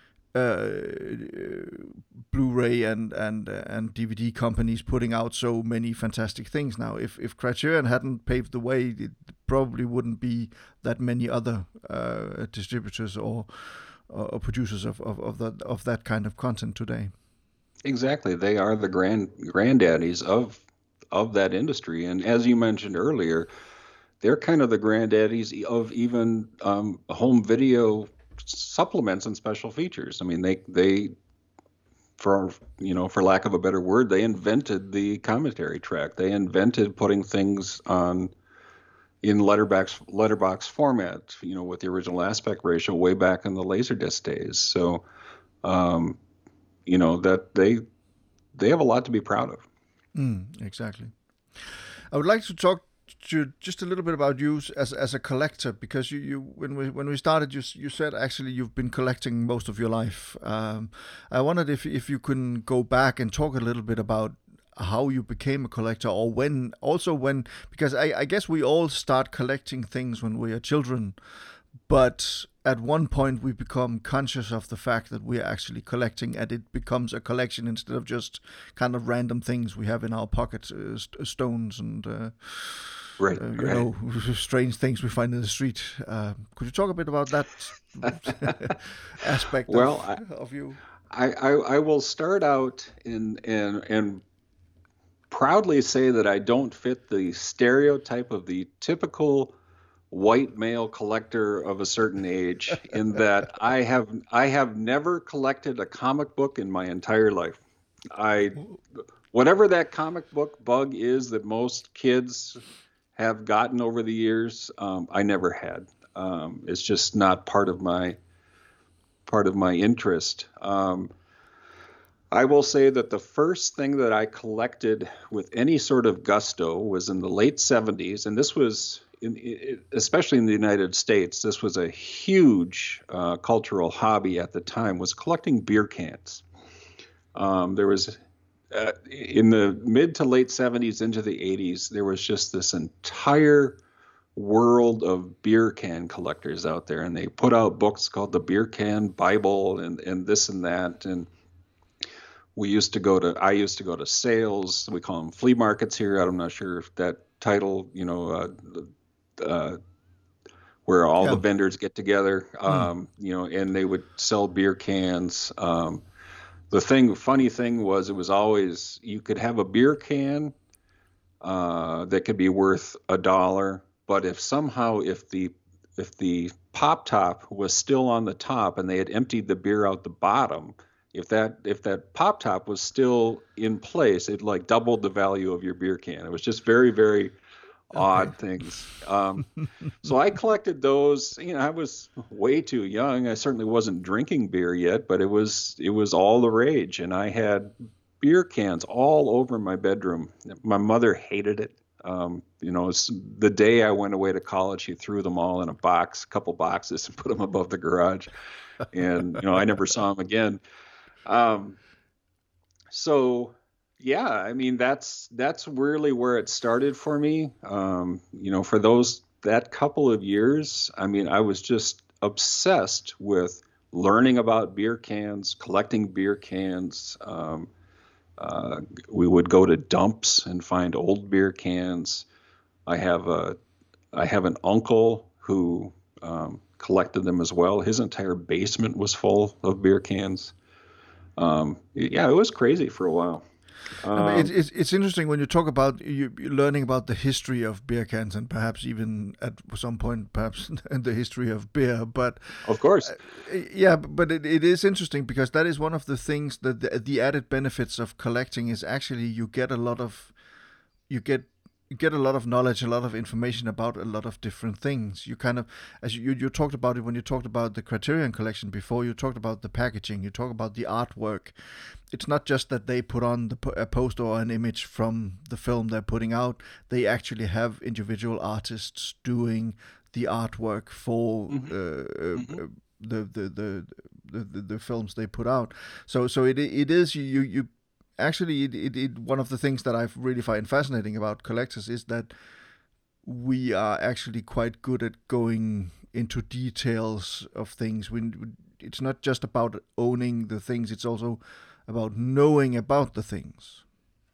uh, Blu-ray and and uh, and D V D companies putting out so many fantastic things now. If if Criterion hadn't paved the way, it probably wouldn't be that many other uh, distributors or or producers of, of, of that of that kind of content today. Exactly, they are the grand granddaddies of of that industry, and as you mentioned earlier, they're kind of the granddaddies of even um, home video supplements and special features. I mean, they they for you know, for lack of a better word, they invented the commentary track. They invented putting things on in letterbox letterbox format, you know, with the original aspect ratio way back in the Laserdisc days. So, um, you know, that they they have a lot to be proud of. Mm, exactly. I would like to talk to just a little bit about you as as a collector, because you, you when we when we started, you you said actually you've been collecting most of your life. Um, I wondered if if you can go back and talk a little bit about how you became a collector, or when also when because I, I guess we all start collecting things when we are children, but at one point we become conscious of the fact that we are actually collecting, and it becomes a collection instead of just kind of random things we have in our pockets, uh, st- stones and uh, right, uh, you right. know, strange things we find in the street. Uh, could you talk a bit about that aspect well, of, I, of you? I, I I will start out in and and proudly say that I don't fit the stereotype of the typical white male collector of a certain age, in that I have I have never collected a comic book in my entire life. I whatever that comic book bug is that most kids have gotten over the years, um, I never had. Um, it's just not part of my part of my interest. Um, I will say that the first thing that I collected with any sort of gusto was in the late seventies, and this was, in, especially in the United States, this was a huge uh, cultural hobby at the time, was collecting beer cans. Um, there was, uh, in the mid to late seventies into the eighties, there was just this entire world of beer can collectors out there, and they put out books called the Beer Can Bible and, and this and that, and we used to go to, I used to go to sales. We call them flea markets here. I'm not sure if that title, you know, uh, uh, where all yeah. the vendors get together, um, mm. you know, and they would sell beer cans. Um, the thing, funny thing was, it was always, you could have a beer can uh, that could be worth a dollar, but if somehow, if the if the pop top was still on the top and they had emptied the beer out the bottom, If that if that pop top was still in place, it like doubled the value of your beer can. It was just very, very odd okay. things. Um, so I collected those. You know, I was way too young. I certainly wasn't drinking beer yet, but it was it was all the rage, and I had beer cans all over my bedroom. My mother hated it. Um, you know, the day I went away to college, she threw them all in a box, a couple boxes, and put them above the garage. And you know, I never saw them again. Um, so yeah, I mean, that's, that's really where it started for me. Um, you know, for those, that couple of years, I mean, I was just obsessed with learning about beer cans, collecting beer cans. Um, uh, we would go to dumps and find old beer cans. I have a, I have an uncle who, um, collected them as well. His entire basement was full of beer cans. Um, yeah, it was crazy for a while. Um, I mean, it, it's it's interesting when you talk about you learning about the history of beer cans, and perhaps even at some point, perhaps the history of beer. But of course, uh, yeah, but it, it is interesting because that is one of the things that the, the added benefits of collecting is actually you get a lot of you get. You get a lot of knowledge, a lot of information about a lot of different things. You kind of, as you, you talked about it when you talked about the Criterion collection before, you talked about the packaging, you talk about the artwork. It's not just that they put on the, a poster or an image from the film they're putting out. They actually have individual artists doing the artwork for Mm-hmm. uh, Mm-hmm. uh, the, the, the the the the films they put out. So so it it is you you actually it, it, it one of the things that I really find fascinating about collectors is that we are actually quite good at going into details of things. We, it's not just about owning the things; it's also about knowing about the things.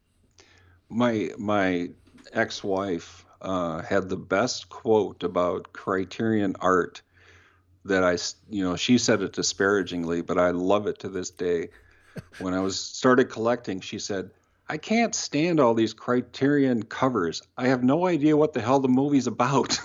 My my ex-wife uh, had the best quote about Criterion art that I, s- you know, she said it disparagingly, but I love it to this day. When I was started collecting, she said, "I can't stand all these Criterion covers. I have no idea what the hell the movie's about."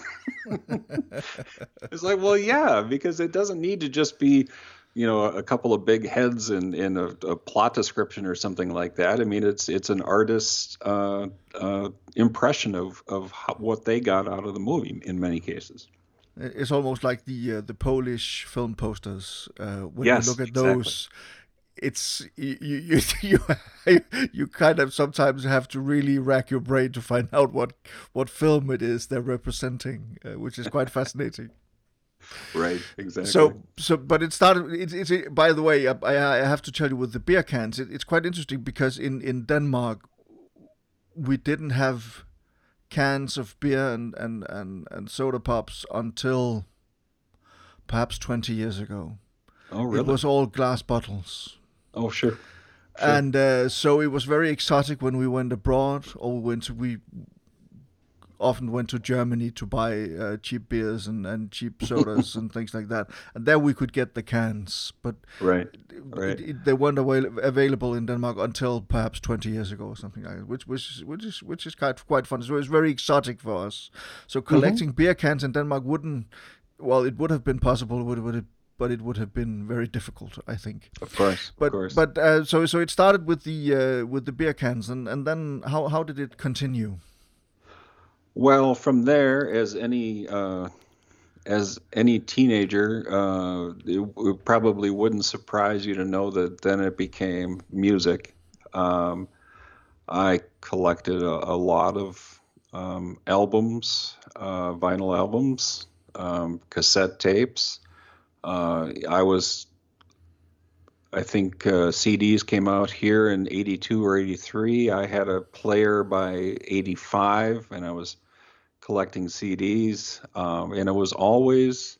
It's like, well, yeah, because it doesn't need to just be, you know, a couple of big heads and in, in a, a plot description or something like that. I mean, it's it's an artist's uh, uh, impression of of how, what they got out of the movie in many cases. It's almost like the uh, the Polish film posters. Uh, when you Yes, look at exactly. those, it's you you you you kind of sometimes have to really rack your brain to find out what what film it is they're representing, uh, which is quite fascinating. Right, exactly. So so, but it started. It's it's by the way, I I have to tell you with the beer cans, it, it's quite interesting because in in Denmark we didn't have cans of beer and and and, and soda pops until perhaps twenty years ago. Oh, It really? was all glass bottles. Oh, sure, sure. And uh, so it was very exotic when we went abroad, or we went to, we often went to Germany to buy uh, cheap beers and, and cheap sodas and things like that. And there we could get the cans, but Right, it, right. it, they weren't avail- available in Denmark until perhaps twenty years ago or something like that, which which which is which is quite quite fun. So it was very exotic for us. So Hmm. collecting beer cans in Denmark wouldn't, well, it would have been possible, would would it, but it would have been very difficult, I think. Of course, of But course. but uh, so so it started with the uh, with the beer cans, and, and then how how did it continue? Well, from there, as any uh, as any teenager, uh, it, it probably wouldn't surprise you to know that then it became music. Um, I collected a, a lot of um, albums, uh, vinyl albums, um, cassette tapes. Uh, I was, I think uh, C Ds came out here in eighty-two or eighty-three. I had a player by eighty-five, and I was collecting C Ds. Um, and it was always,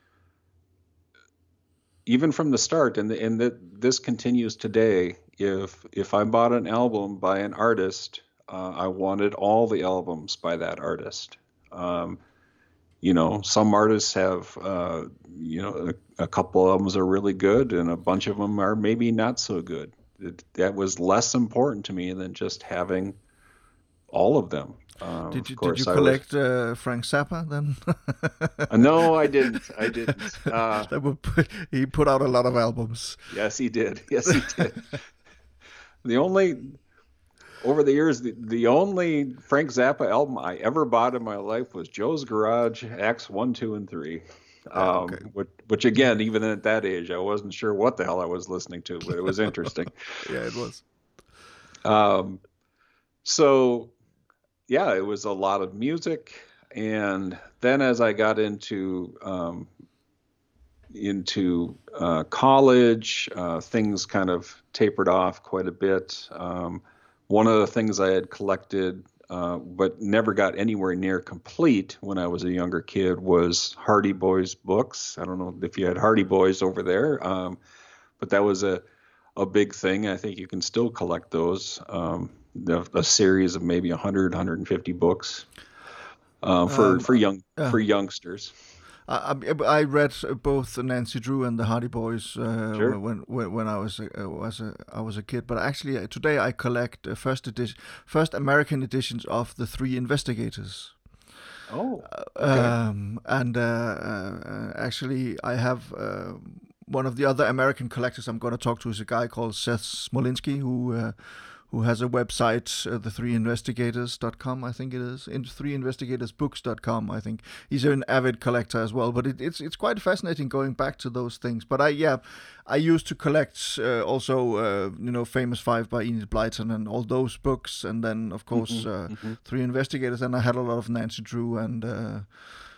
even from the start, and the, and that this continues today. If if I bought an album by an artist, uh, I wanted all the albums by that artist. Um, you know, some artists have, uh, you know, a, a couple albums are really good, and a bunch of them are maybe not so good. It, that was less important to me than just having all of them. Um, Did of you did you course, I was. collect uh, Frank Zappa then? Uh, no, I didn't. I didn't. Uh, That would put, he put out a lot of albums. yes, he did. Yes, he did. The only over the years, the, the only Frank Zappa album I ever bought in my life was Joe's Garage, Acts one, two, and three. Yeah, okay. Um, which, which again, even at that age, I wasn't sure what the hell I was listening to, but it was interesting. Yeah, it was. Um, so yeah, it was a lot of music, and then as I got into um, into uh, college, uh, things kind of tapered off quite a bit. Um, one of the things I had collected, uh, but never got anywhere near complete when I was a younger kid, was Hardy Boys books. I don't know if you had Hardy Boys over there, um, but that was a, a big thing. I think you can still collect those. Um, a, a series of maybe one hundred, one hundred fifty books um, for Um, for young uh, for youngsters. I, I I read both Nancy Drew and the Hardy Boys uh, Sure. when when when I was a, uh, was a I was a kid. But actually, uh, today I collect uh, first edition, first American editions of the Three Investigators. Oh, okay. Um, and uh, uh, actually, I have uh, one of the other American collectors I'm going to talk to is a guy called Seth Smolinski, who uh, who has a website, uh, the three investigators dot com, I think it is, in three investigators books dot com, I think. He's an avid collector as well, but it, it's it's quite fascinating going back to those things. But I, yeah, I used to collect uh, also, uh, you know, Famous Five by Enid Blyton and all those books, and then, of course, Hmm. uh, Hmm. Three Investigators, and I had a lot of Nancy Drew and... Uh,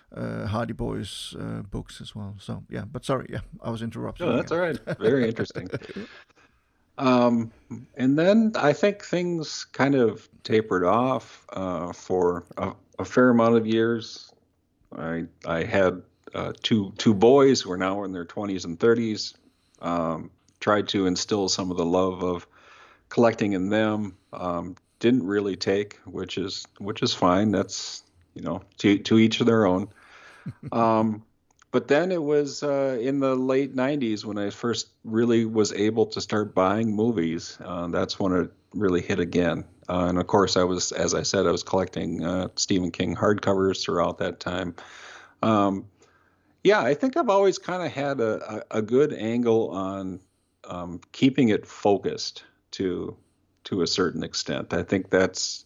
uh, Hardy Boys uh, books as well. So yeah, but sorry, yeah, I was interrupting. No, that's all right. Very interesting. Um, and then I think things kind of tapered off uh, for a, a fair amount of years. I I had uh, two two boys who are now in their twenties and thirties. Um, tried to instill some of the love of collecting in them. Um, didn't really take, which is which is fine. That's, you know, to to each their own. Um, but then it was uh, in the late nineties when I first really was able to start buying movies. Uh, that's when it really hit again. Uh, and of course, I was, as I said, I was collecting uh, Stephen King hardcovers throughout that time. Um, yeah, I think I've always kind of had a, a, a good angle on um, keeping it focused to to a certain extent. I think that's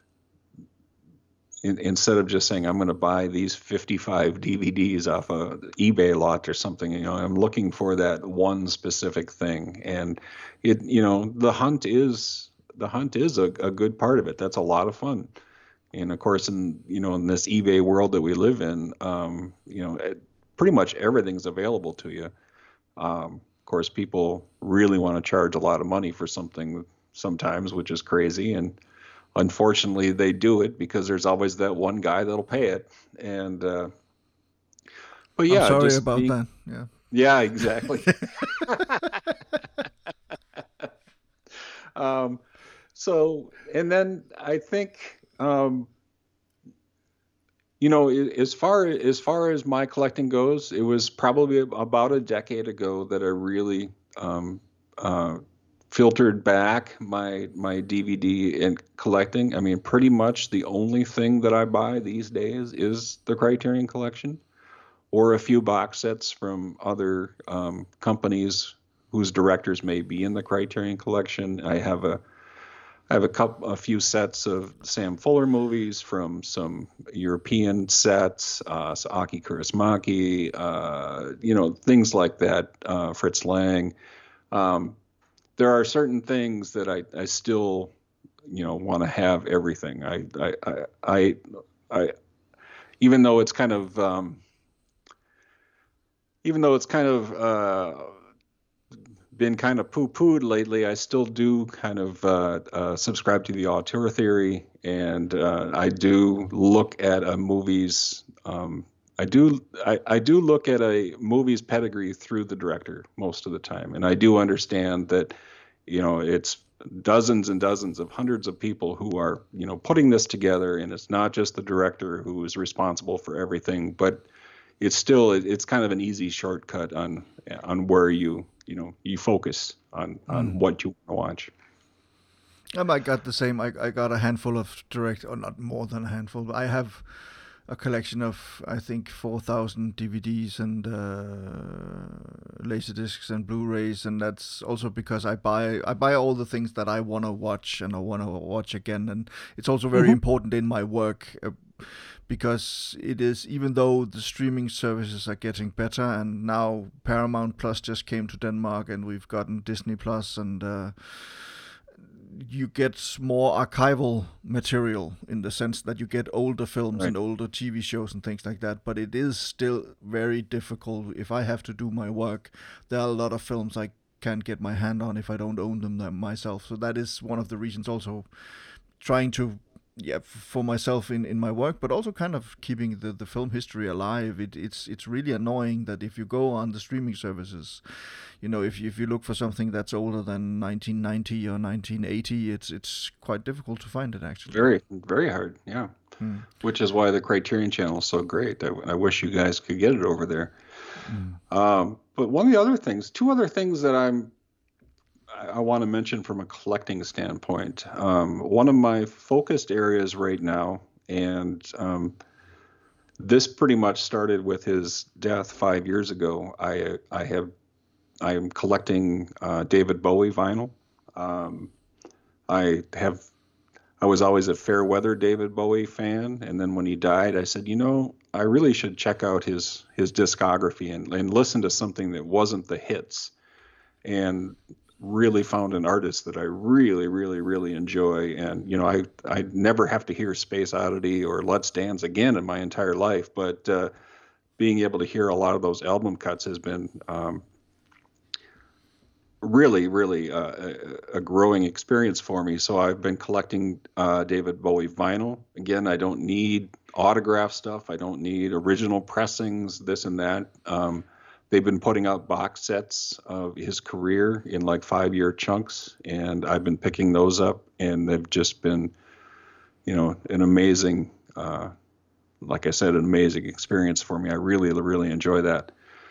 in, instead of just saying I'm going to buy these fifty-five D V Ds off a eBay lot or something. You know, I'm looking for that one specific thing, and it, you know, the hunt is the hunt is a, a good part of it. That's a lot of fun. And of course, in you know in this eBay world that we live in, um, you know, it, pretty much everything's available to you. Um, of course, people really want to charge a lot of money for something sometimes, which is crazy. And unfortunately, they do it because there's always that one guy that'll pay it. And uh, but yeah, I'm sorry just about being, that. Yeah. Yeah, exactly. um, so, and then I think. Um, You know, as far as far as my collecting goes, it was probably about a decade ago that I really um, uh, filtered back my my D V D and collecting. I mean, pretty much the only thing that I buy these days is the Criterion Collection, or a few box sets from other um, companies whose directors may be in the Criterion Collection. I have a I have a couple, a few sets of Sam Fuller movies from some European sets, uh, so Aki Kaurismäki, uh, you know, things like that, uh, Fritz Lang. Um, there are certain things that I, I still, you know, want to have everything. I, I, I, I, I, even though it's kind of, um, even though it's kind of, uh, been kind of poo-pooed lately, I still do kind of uh, uh, subscribe to the auteur theory, and uh, I do look at a movie's. Um, I do I, I do look at a movie's pedigree through the director most of the time, and I do understand that, you know, it's dozens and dozens of hundreds of people who are, you know, putting this together, and it's not just the director who is responsible for everything, but it's still it's kind of an easy shortcut on on where you. You know, you focus on, on mm. what you want to watch. Um, I got the same. I, I got a handful of direct, or not more than a handful, but I have a collection of, I think, four thousand D V Ds and uh, Laserdiscs and Blu-rays, and that's also because I buy I buy all the things that I want to watch and I want to watch again, and it's also very mm-hmm. important in my work. Uh, Because it is, even though the streaming services are getting better, and now Paramount Plus just came to Denmark, and we've gotten Disney Plus, and uh, you get more archival material in the sense that you get older films right. and older T V shows and things like that. But it is still very difficult. If I have to do my work, there are a lot of films I can't get my hand on if I don't own them myself. So that is one of the reasons also trying to Yeah, for myself in, in my work, but also kind of keeping the, the film history alive. It, it's it's really annoying that if you go on the streaming services, you know, if you, if you look for something that's older than nineteen ninety or nineteen eighty, it's it's quite difficult to find it actually. Very, very hard, yeah. Hmm. Which is why the Criterion Channel is so great. I, I wish you guys could get it over there. Hmm. Um, but one of the other things, two other things that I'm I want to mention from a collecting standpoint. Um, one of my focused areas right now, and um, this pretty much started with his death five years ago. I I have I am collecting uh, David Bowie vinyl. Um, I have I was always a fair weather David Bowie fan, and then when he died, I said, you know, I really should check out his his discography and, and listen to something that wasn't the hits. And really found an artist that I really, really, really enjoy. And, you know, I, I never have to hear Space Oddity or Let's Dance again in my entire life, but uh, being able to hear a lot of those album cuts has been um, really, really uh, a, a growing experience for me. So I've been collecting uh, David Bowie vinyl. Again, I don't need autograph stuff. I don't need original pressings, this and that. Um, they've been putting out box sets of his career in like five-year chunks, and I've been picking those up, and they've just been, you know, an amazing, uh, like I said, an amazing experience for me. I really, really enjoy that.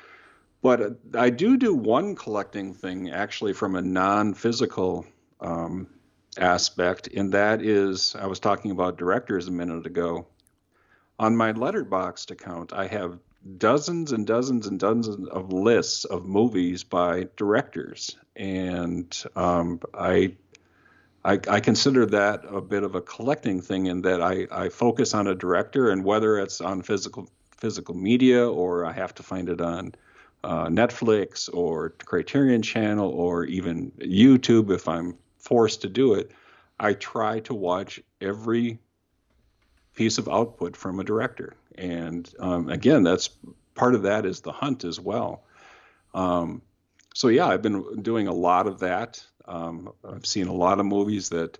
But I do do one collecting thing actually from a non-physical um, aspect, and that is, I was talking about directors a minute ago. On my Letterboxd account, I have dozens and dozens and dozens of lists of movies by directors, and um, I, I I consider that a bit of a collecting thing in that I, I focus on a director, and whether it's on physical physical media or I have to find it on Uh, Netflix or Criterion Channel or even YouTube, if I'm forced to do it, I try to watch every piece of output from a director. And um, again, that's part of that is the hunt as well. Um, so yeah, I've been doing a lot of that. Um, I've seen a lot of movies that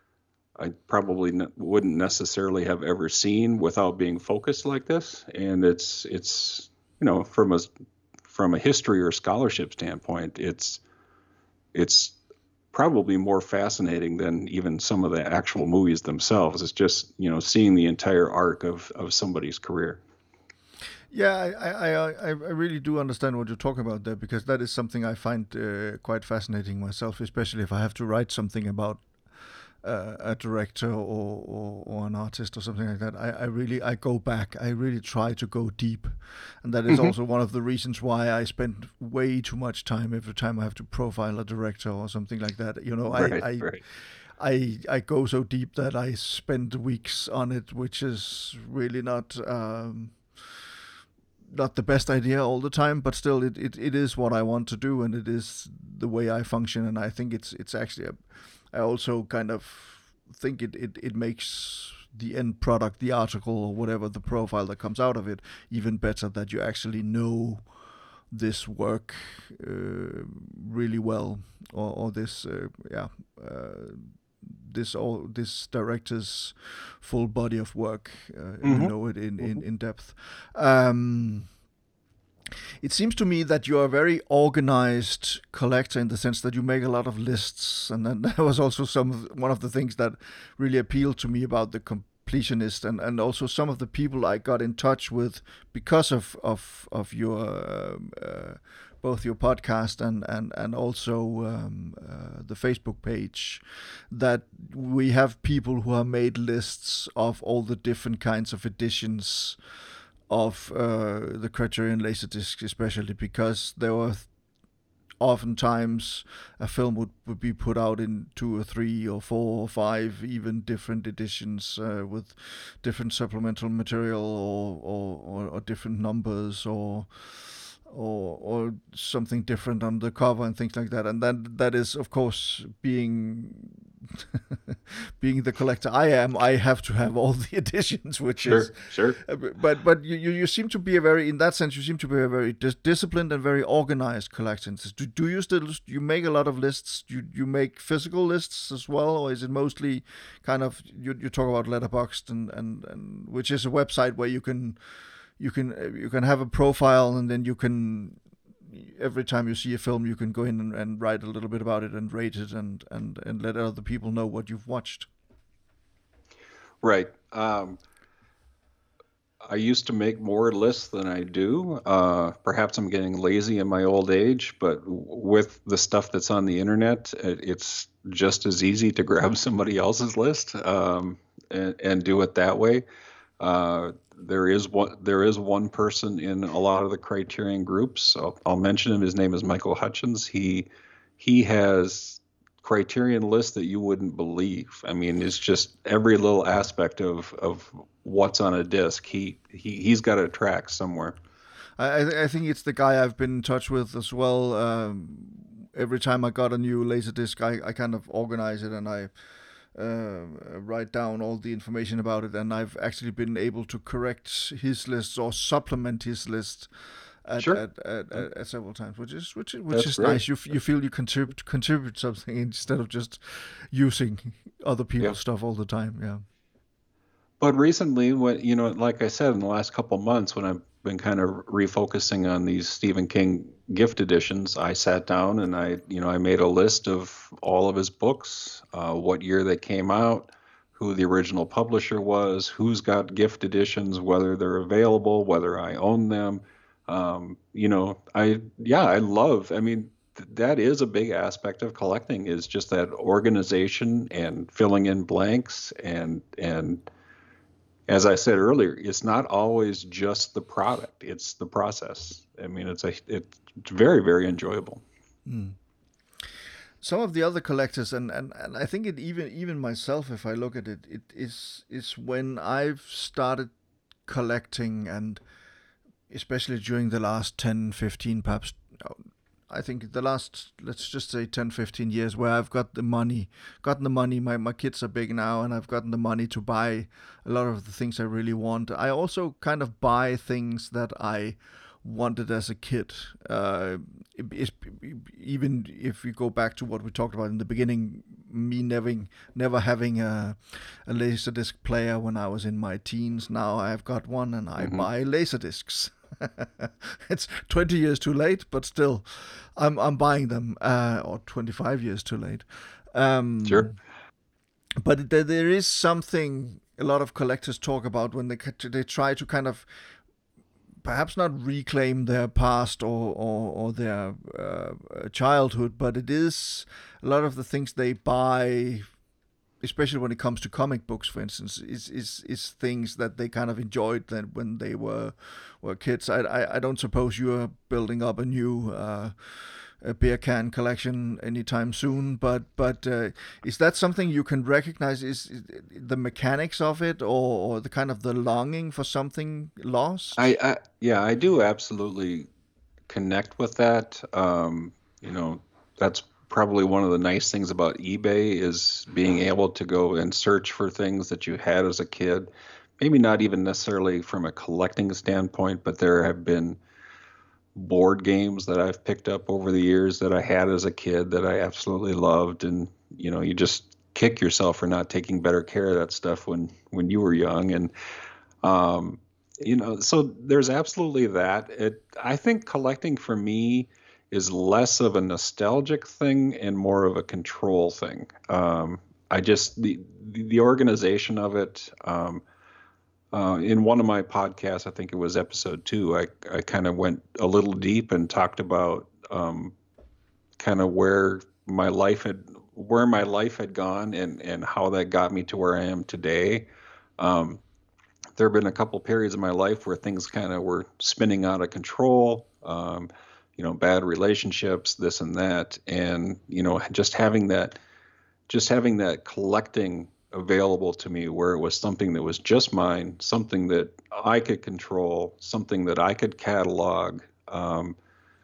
I probably ne- wouldn't necessarily have ever seen without being focused like this. And it's, it's, you know, from a From a history or scholarship standpoint, it's it's probably more fascinating than even some of the actual movies themselves. It's just, you know, seeing the entire arc of, of somebody's career. Yeah, I, I, I, I really do understand what you're talking about there, because that is something I find uh, quite fascinating myself, especially if I have to write something about Uh, a director or, or, or an artist or something like that. I, I really I go back. I really try to go deep, and that is mm-hmm. also one of the reasons why I spend way too much time every time I have to profile a director or something like that. You know, right, I I, right. I I go so deep that I spend weeks on it, which is really not. Um, not the best idea all the time, but still it, it, it is what I want to do, and it is the way I function, and I think it's it's actually a, I also kind of think it, it, it makes the end product, the article or whatever, the profile that comes out of it, even better, that you actually know this work uh, really well, or, or this uh, yeah uh, this all this director's full body of work. Uh, mm-hmm. You know it in, in, in depth. Um, It seems to me that you are a very organized collector in the sense that you make a lot of lists, and then that was also some of, one of the things that really appealed to me about the completionist, and, and also some of the people I got in touch with because of of of your um, uh, both your podcast and and and also um, uh, the Facebook page, that we have people who have made lists of all the different kinds of editions of uh, the Criterion Laserdisc, especially because there were th- oftentimes a film would, would be put out in two or three or four or five even different editions uh, with different supplemental material or or, or, or different numbers or or or something different on the cover and things like that. And that that is, of course, being being the collector I am, I have to have all the editions, which sure, is sure. But but you, you seem to be a very, in that sense, you seem to be a very dis- disciplined and very organized collector. Do do you still you make a lot of lists? You you make physical lists as well, or is it mostly kind of you you talk about Letterboxd and and, and which is a website where you can you can you can have a profile, and then you can, every time you see a film, you can go in and, and write a little bit about it and rate it and, and, and let other people know what you've watched. Right. Um, I used to make more lists than I do. Uh, perhaps I'm getting lazy in my old age, but with the stuff that's on the internet, it's just as easy to grab somebody else's list um, and, and do it that way. Uh, there is one there is one person in a lot of the Criterion groups. So I'll mention him. His name is Michael Hutchins. He he has Criterion lists that you wouldn't believe. I mean, it's just every little aspect of, of what's on a disc. He he he's got a track somewhere. I I think it's the guy I've been in touch with as well. Um, every time I got a new Laserdisc, I, I kind of organize it and I uh, write down all the information about it. And I've actually been able to correct his lists or supplement his list at Sure. at, at, at, at several times, which is which is which That's is great. nice. You f- you feel you contribute contribute something instead of just using other people's Yeah. stuff all the time. Yeah. But recently, what you know, like I said, in the last couple months, when I've been kind of refocusing on these Stephen King gift editions, I sat down and I, you know, I made a list of all of his books, uh, what year they came out, who the original publisher was, who's got gift editions, whether they're available, whether I own them. Um, you know, I yeah, I love. I mean, th- that is a big aspect of collecting, is just that organization and filling in blanks and and as I said earlier, it's not always just the product; it's the process. I mean, it's a it's very very enjoyable. Mm. Some of the other collectors, and, and, and I think it even even myself, if I look at it, it is is when I've started collecting, and especially during the last ten, fifteen, perhaps, I think the last, let's just say ten, fifteen years, where I've got the money, gotten the money, my, my kids are big now, and I've gotten the money to buy a lot of the things I really want. I also kind of buy things that I wanted as a kid. Uh, it, it's, even if we go back to what we talked about in the beginning, me never, never having a, a Laserdisc player when I was in my teens. Now I've got one and I mm-hmm. buy Laserdiscs. It's twenty years too late, but still, I'm I'm buying them, uh, or twenty-five years too late. Um, sure. But th- there is something a lot of collectors talk about when they they try to kind of perhaps not reclaim their past or or, or their uh, childhood, but it is a lot of the things they buy, especially when it comes to comic books, for instance, is is is things that they kind of enjoyed then when they were were kids. I I, I don't suppose you are building up a new uh, a beer can collection anytime soon, but but uh, is that something you can recognize? Is, is the mechanics of it, or, or the kind of the longing for something lost? I, I yeah, I do absolutely connect with that. Um, you know, that's probably one of the nice things about eBay, is being able to go and search for things that you had as a kid. Maybe not even necessarily from a collecting standpoint, but there have been board games that I've picked up over the years that I had as a kid that I absolutely loved. And, you know, you just kick yourself for not taking better care of that stuff when, when you were young. And, um, you know, so there's absolutely that. It, I think collecting for me is less of a nostalgic thing and more of a control thing. Um, I just, the, the organization of it, um, uh, in one of my podcasts, I think it was episode two, I, I kind of went a little deep and talked about, um, kind of where my life had, where my life had gone and, and how that got me to where I am today. Um, there have been a couple periods in my life where things kind of were spinning out of control. Um, you know, bad relationships, this and that. And, you know, just having that, just having that collecting available to me where it was something that was just mine, something that I could control, something that I could catalog, um,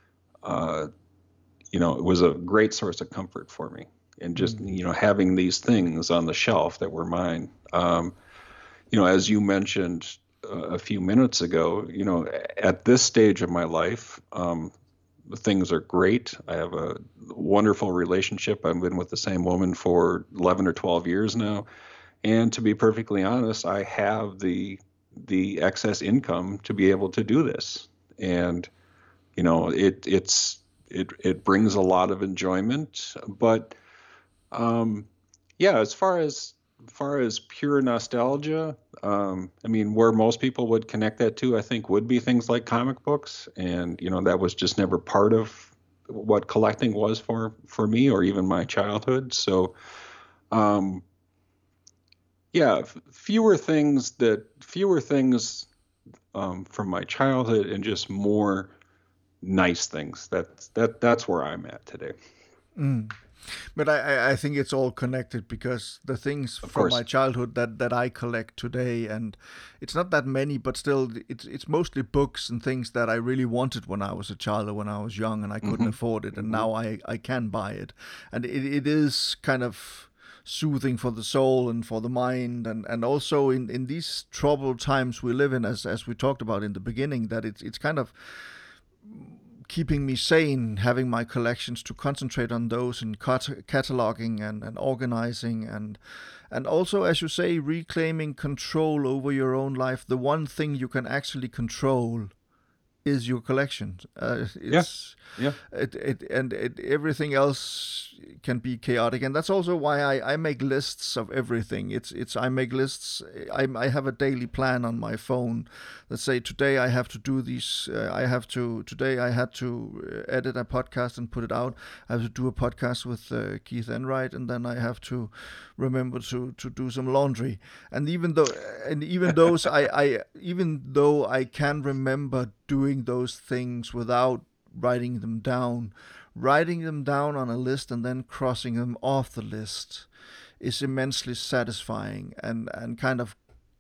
uh, you know, it was a great source of comfort for me. And just, mm-hmm. you know, having these things on the shelf that were mine. Um, you know, as you mentioned uh, a few minutes ago, you know, at this stage of my life, um, things are great. I have a wonderful relationship. I've been with the same woman for eleven or twelve years now. And to be perfectly honest, I have the the excess income to be able to do this. And, you know, it it's it it brings a lot of enjoyment. But um, yeah, as far as as far as pure nostalgia, um, I mean, where most people would connect that to, I think, would be things like comic books. And, you know, that was just never part of what collecting was for, for me or even my childhood. So, um, yeah, f- fewer things that, fewer things um, from my childhood and just more nice things. That's, that, that's where I'm at today. Mm. But I, I think it's all connected, because the things Of from course. my childhood that, that I collect today, and it's not that many, but still, it's it's mostly books and things that I really wanted when I was a child or when I was young, and I couldn't Mhm. afford it, and Mhm. now I, I can buy it, and it, it is kind of soothing for the soul and for the mind, and, and also in, in these troubled times we live in, as as we talked about in the beginning, that it's it's kind of keeping me sane, having my collections, to concentrate on those, and cat- cataloging and, and organizing, and and also, as you say, reclaiming control over your own life. The one thing you can actually control is your collection. Uh, Yeah. it's Yeah. it, it and it, everything else can be chaotic, and that's also why I, I make lists of everything. It's it's I make lists. I, I have a daily plan on my phone that say, today I have to do these. Uh, I have to today I had to edit a podcast and put it out. I have to do a podcast with uh, Keith Enright, and then I have to remember to, to do some laundry. And even though and even those I, I even though I can remember doing those things without writing them down, writing them down on a list and then crossing them off the list is immensely satisfying, and, and kind of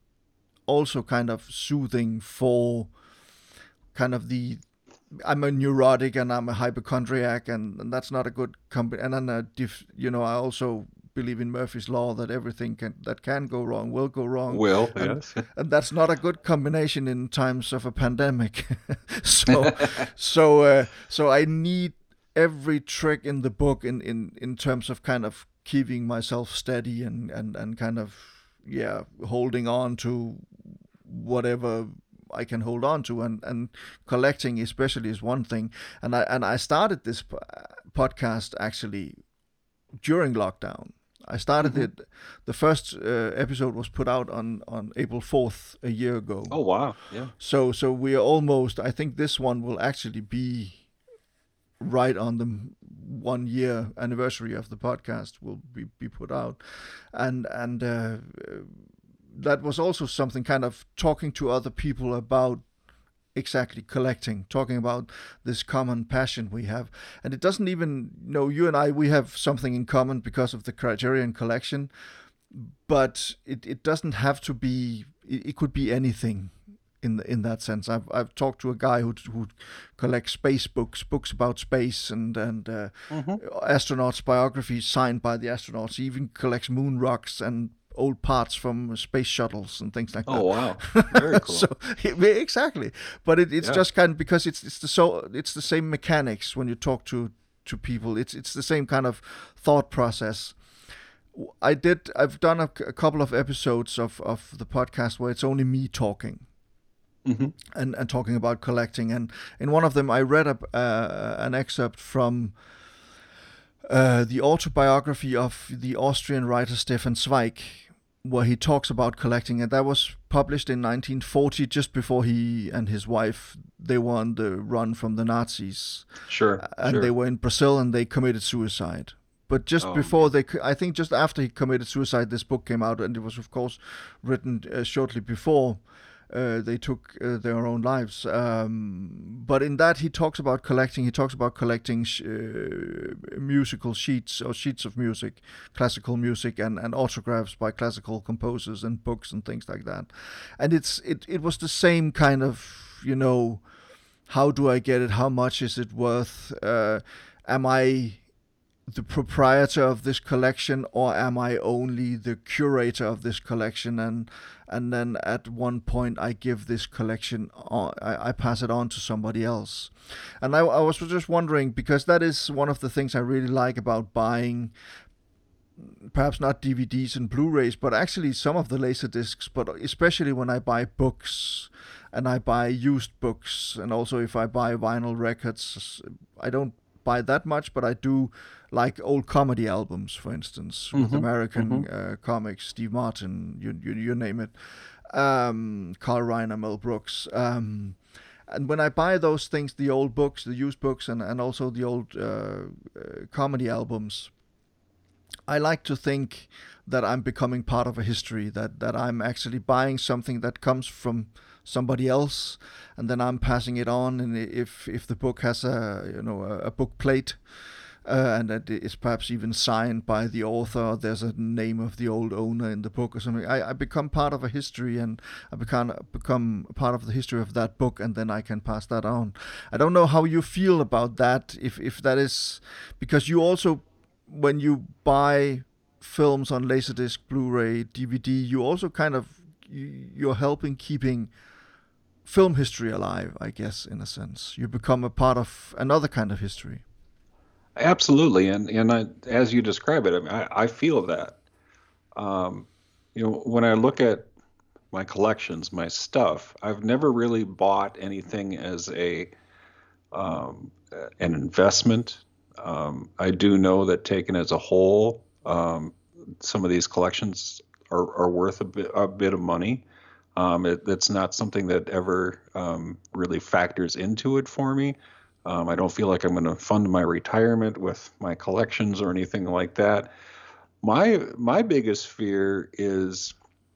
also kind of soothing for kind of the I'm a neurotic and I'm a hypochondriac, and, and that's not a good combi And then, uh, diff, you know, I also believe in Murphy's law that everything can, that can go wrong will go wrong, Will, and yes. and that's not a good combination in times of a pandemic. so, so, uh, so I need every trick in the book in, in, in terms of kind of keeping myself steady, and, and, and kind of yeah holding on to whatever I can hold on to, and, and collecting especially is one thing. And I and I started this podcast actually during lockdown. I started Mhm. it. The first uh, episode was put out on, on April fourth a year ago. Oh, wow. Yeah. So so we are almost. I think this one will actually be right on the one year anniversary of the podcast will be, be put out, and and. Uh, that was also something, kind of talking to other people about exactly collecting, talking about this common passion we have. And it doesn't even, you know, you and I, we have something in common because of the Criterion Collection, but it, it doesn't have to be, it, it could be anything. In in that sense, I've I've talked to a guy who who collects space books, books about space, and and uh, Mhm. astronauts' biographies signed by the astronauts. He even collects moon rocks and old parts from space shuttles and things like Oh, that. wow. Very cool. So exactly, but it, it's Yeah. just kind of because it's it's the so it's the same mechanics when you talk to to people. It's it's the same kind of thought process. I did. I've done a, a couple of episodes of of the podcast where it's only me talking. Mhm. And, and talking about collecting, and in one of them I read a, uh, an excerpt from uh, the autobiography of the Austrian writer Stefan Zweig, where he talks about collecting, and that was published in nineteen forty, just before he and his wife, they were on the run from the Nazis, Sure. and Sure. they were in Brazil, and they committed suicide. But just Oh, before man. they, I think just after he committed suicide, this book came out, and it was of course written uh, shortly before uh, they took uh, their own lives. Um, but in that, he talks about collecting. He talks about collecting sh- uh, musical sheets or sheets of music, classical music, and, and autographs by classical composers and books and things like that. And it's it, it was the same kind of, you know, how do I get it? How much is it worth? Uh, am I the proprietor of this collection, or am I only the curator of this collection? And and then at one point I give this collection on, I, I pass it on to somebody else. And I, I was just wondering, because that is one of the things I really like about buying, perhaps not D V Ds and Blu-rays, but actually some of the laser discs, but especially when I buy books and I buy used books, and also if I buy vinyl records. I don't buy that much, but I do like old comedy albums, for instance, with Mhm. American Mhm. uh, comics, Steve Martin, you, you, you name it, um, Carl Reiner, Mel Brooks. Um, and when I buy those things, the old books, the used books, and, and also the old uh, uh, comedy albums, I like to think that I'm becoming part of a history, that, that I'm actually buying something that comes from somebody else, and then I'm passing it on. And if if the book has a you know a, a book plate, uh, and that it's perhaps even signed by the author. There's a name of the old owner in the book or something. I, I become part of a history, and I become become part of the history of that book, and then I can pass that on. I don't know how you feel about that. If if that is because you also, when you buy films on Laserdisc, Blu-ray, D V D, you also kind of you're helping keeping film history alive, I guess, in a sense. You become a part of another kind of history. Absolutely, and and I, as you describe it, I, mean, I, I feel that. Um, you know, when I look at my collections, my stuff, I've never really bought anything as a um, an investment. Um, I do know that taken as a whole, um, some of these collections are, are worth a bit, a bit of money. Um, it, it's not something that ever um, really factors into it for me. Um, I don't feel like I'm going to fund my retirement with my collections or anything like that. My my biggest fear is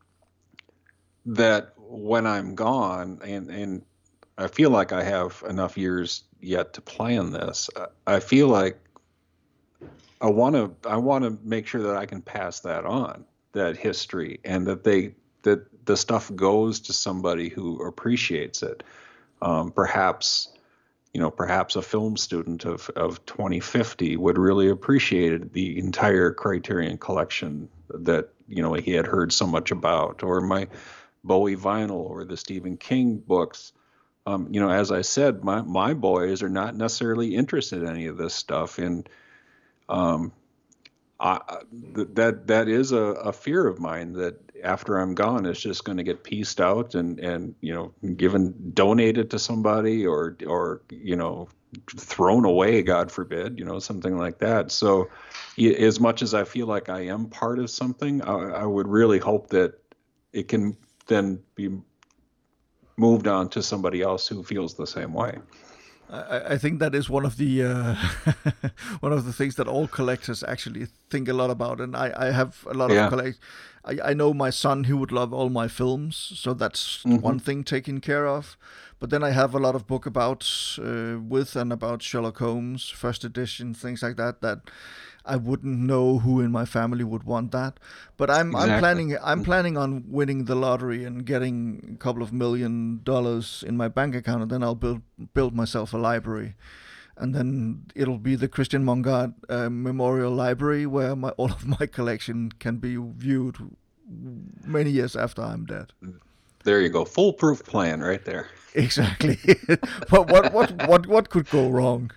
that when I'm gone, and, and I feel like I have enough years yet to plan this, I feel like I want to I want to make sure that I can pass that on, that history, and that they that the stuff goes to somebody who appreciates it. Um, perhaps, you know, perhaps a film student of, of twenty fifty would really appreciate the entire Criterion collection that, you know, he had heard so much about, or my Bowie vinyl or the Stephen King books. Um, you know, as I said, my, my boys are not necessarily interested in any of this stuff. And um, I, that that is a, a fear of mine, that after I'm gone, it's just going to get pieced out and, and, you know, given, donated to somebody, or, or, you know, thrown away, God forbid, you know, something like that. So as much as I feel like I am part of something, I, I would really hope that it can then be moved on to somebody else who feels the same way. I, I think that is one of the uh, one of the things that all collectors actually think a lot about, and I, I have a lot Yeah. of collect. I, I know my son, he would love all my films, so that's Mhm. one thing taken care of. But then I have a lot of book about uh, with and about Sherlock Holmes, first edition, things like that. That I wouldn't know who in my family would want that. But I'm I'm Exactly. planning I'm Mhm. planning on winning the lottery and getting a couple of million dollars in my bank account, and then I'll build build myself a library, and then it'll be the Christian Mongard uh, Memorial Library, where my all of my collection can be viewed many years after I'm dead. There you go. Foolproof plan right there. Exactly. But what what what what could go wrong?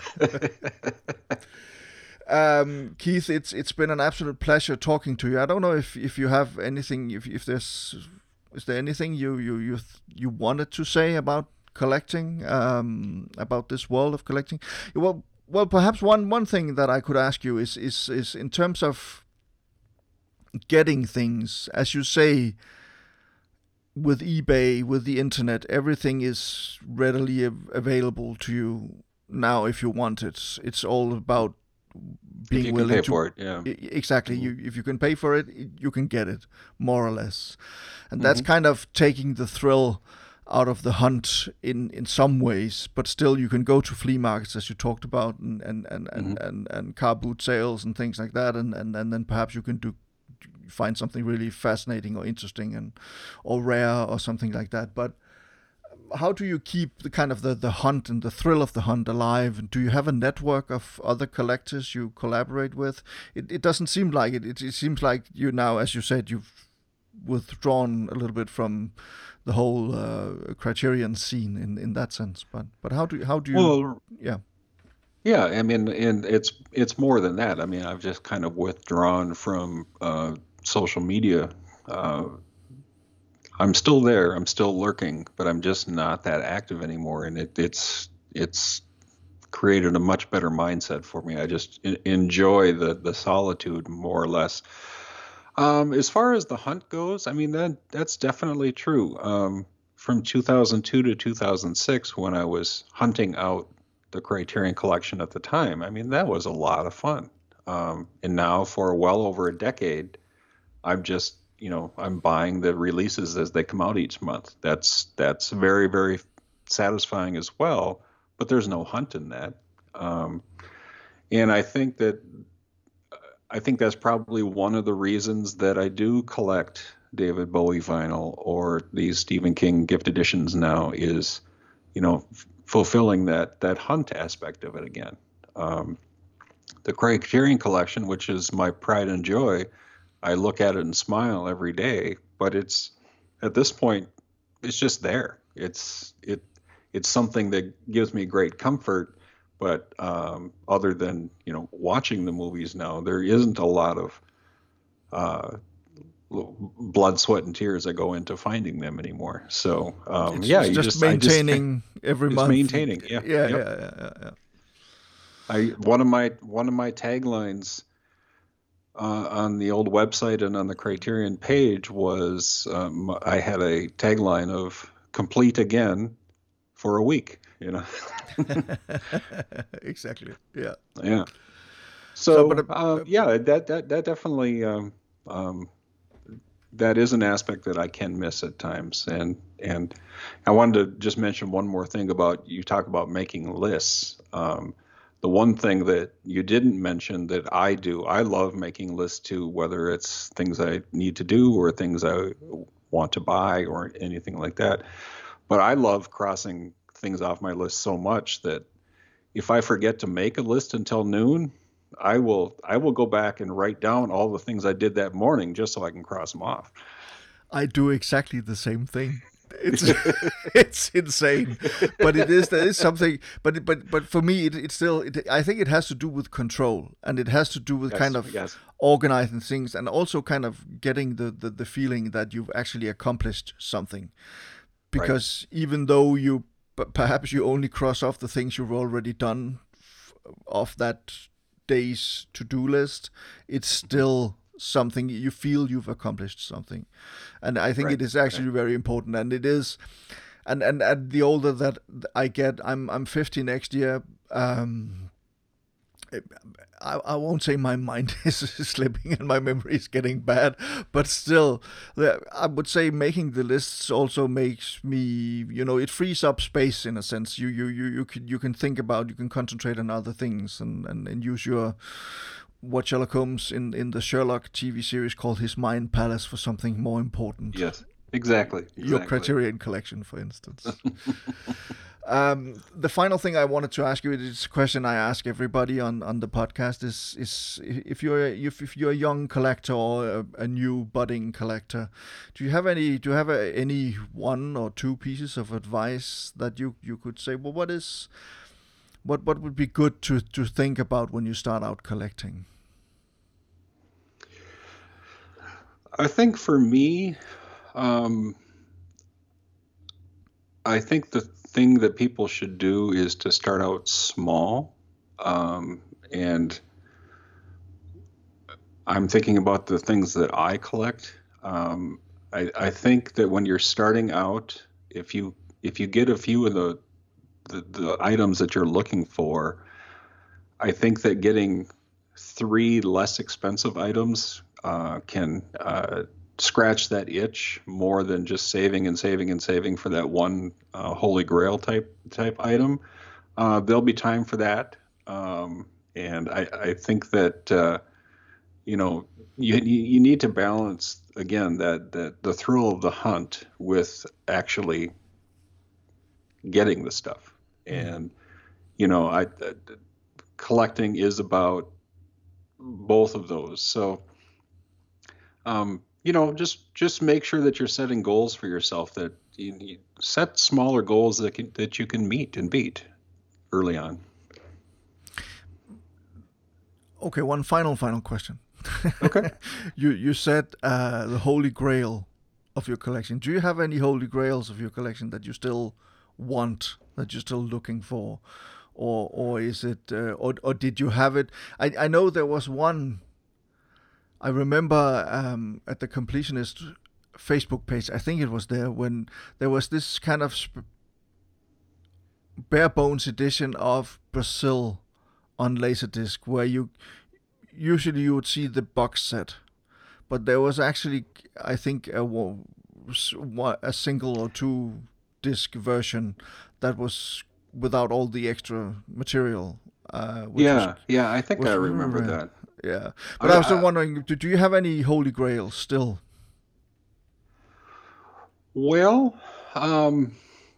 Um, Keith, it's it's been an absolute pleasure talking to you. I don't know if, if you have anything, if if there's is there anything you you you you wanted to say about collecting, um, about this world of collecting. Well, well, perhaps one one thing that I could ask you is is is in terms of getting things, as you say, with eBay, with the internet, everything is readily av- available to you now if you want it. It's all about being if you willing can pay to for it, yeah. I- exactly. Mhm. You if you can pay for it, you can get it, more or less, and that's Mhm. kind of taking the thrill out of the hunt in in some ways. But still, you can go to flea markets, as you talked about, and and and and, Mhm. and, and car boot sales and things like that, and, and and then perhaps you can do find something really fascinating or interesting and or rare or something like that. But how do you keep the kind of the, the hunt and the thrill of the hunt alive? And do you have a network of other collectors you collaborate with? It it doesn't seem like it. It, it seems like you now, as you said, you've withdrawn a little bit from the whole uh, Criterion scene in, in that sense. But but how do how do you? Well, Yeah. yeah, I mean, and it's it's more than that. I mean, I've just kind of withdrawn from uh, social media. Uh, I'm still there. I'm still lurking, but I'm just not that active anymore. And it, it's it's created a much better mindset for me. I just en- enjoy the the solitude more or less. Um, as far as the hunt goes, I mean that that's definitely true. Um, from two thousand two to two thousand six, when I was hunting out the Criterion Collection at the time, I mean that was a lot of fun. Um, and now, for well over a decade, I'm just, you know, I'm buying the releases as they come out each month. That's that's very, very satisfying as well. But there's no hunt in that. Um, And I think that I think that's probably one of the reasons that I do collect David Bowie vinyl or these Stephen King gift editions now is, you know, f- fulfilling that that hunt aspect of it again. Um, the Criterion Collection, which is my pride and joy, I look at it and smile every day. But it's at this point, it's just there. It's it it's something that gives me great comfort. But um, other than you know watching the movies now, there isn't a lot of uh, blood, sweat, and tears that go into finding them anymore. So um, It's, yeah, it's you just just I just maintaining every it's month. maintaining. Yeah, Yeah, yep. yeah, yeah, yeah, yeah. I one of my one of my taglines uh, on the old website and on the Criterion page was um, I had a tagline of "complete again for a week." You know. Exactly. Yeah. Yeah. So, but So uh, um, yeah, that that that definitely um, um, that is an aspect that I can miss at times. And and I wanted to just mention one more thing about you talk about making lists. Um, the one thing that you didn't mention that I do, I love making lists too, whether it's things I need to do or things I want to buy or anything like that. But I love crossing things off my list so much that if I forget to make a list until noon, I will I will go back and write down all the things I did that morning just so I can cross them off. I do exactly the same thing. It's it's insane, but it is there is something. But but but for me, it, it's still. It, I think it has to do with control, and it has to do with kind Yes, of yes, organizing things, and also kind of getting the, the the feeling that you've actually accomplished something. right. Because even though you p- perhaps you only cross off the things you've already done f- off that day's to-do list, it's Mhm. still something you feel you've accomplished something. And I think Right, it is right. actually very important, and it is. And and, and the older that I get, i'm i'm fifty next year. um I, I won't say my mind is slipping and my memory is getting bad, but still, I would say making the lists also makes me, you know, it frees up space in a sense. You you you you can you can think about, you can concentrate on other things, and and, and use your, what Sherlock Holmes in in the Sherlock T V series called his mind palace for something more important. Yes, exactly, Your exactly. Criterion collection, for instance. Um, the final thing I wanted to ask you is a question I ask everybody on, on the podcast is is if you're a, if, if you're a young collector or a, a new budding collector, do you have any do you have a, any one or two pieces of advice that you, you could say? Well, what is what what would be good to, to think about when you start out collecting? I think for me, um, I think the thing that people should do is to start out small. Um, and I'm thinking about the things that I collect. Um, I, I think that when you're starting out, if you if you get a few of the, the the items that you're looking for, I think that getting three less expensive items uh, can uh, scratch that itch more than just saving and saving and saving for that one uh, holy grail type type item. Uh, there'll be time for that, um, and I, I think that uh, you know you you need to balance again that that the thrill of the hunt with actually getting the stuff. Mm. And you know I, I collecting is about both of those. So um, you know, just just make sure that you're setting goals for yourself, that you, you set smaller goals that can, that you can meet and beat early on. Okay, one final final question. Okay. you you said uh, the holy grail of your collection. Do you have any holy grails of your collection that you still want, that you're still looking for, or or is it uh, or or did you have it? I I know there was one. I remember um, at the completionist Facebook page. I think it was there when there was this kind of sp- bare bones edition of Brazil on Laserdisc, where you usually you would see the box set, but there was actually, I think, a, a single or two disc version that was without all the extra material. Uh, which yeah, was, yeah, I think was I remember rare. that. Yeah, but I, I was still wondering, do, do you have any Holy Grails still? Well, um,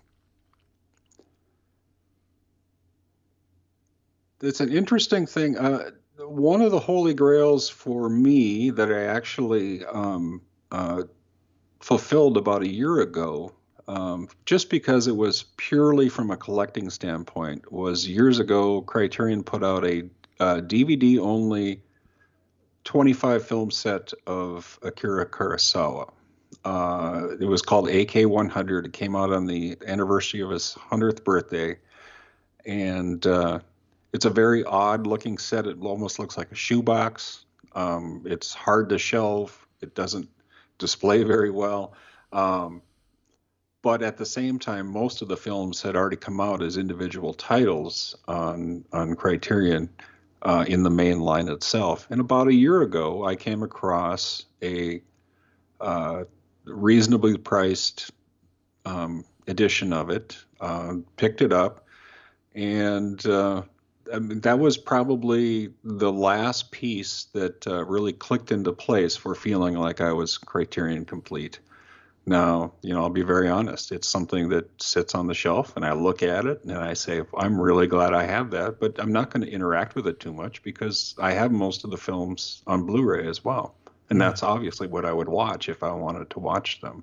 it's an interesting thing. Uh, one of the Holy Grails for me that I actually um, uh, fulfilled about a year ago, um, just because it was purely from a collecting standpoint, was years ago Criterion put out a uh, D V D-only twenty-five film set of Akira Kurosawa. Uh, it was called A K one hundred. It came out on the anniversary of his hundredth birthday. And uh, it's a very odd looking set. It almost looks like a shoebox. Um, it's hard to shelve. It doesn't display very well. Um, but at the same time, most of the films had already come out as individual titles on, on Criterion uh, in the main line itself. And about a year ago, I came across a uh, reasonably priced um, edition of it, uh, picked it up, and uh, I mean, that was probably the last piece that uh, really clicked into place for feeling like I was Criterion complete. Now, you know, I'll be very honest. It's something that sits on the shelf, and I look at it, and I say, I'm really glad I have that, but I'm not going to interact with it too much because I have most of the films on Blu-ray as well. And that's obviously what I would watch if I wanted to watch them.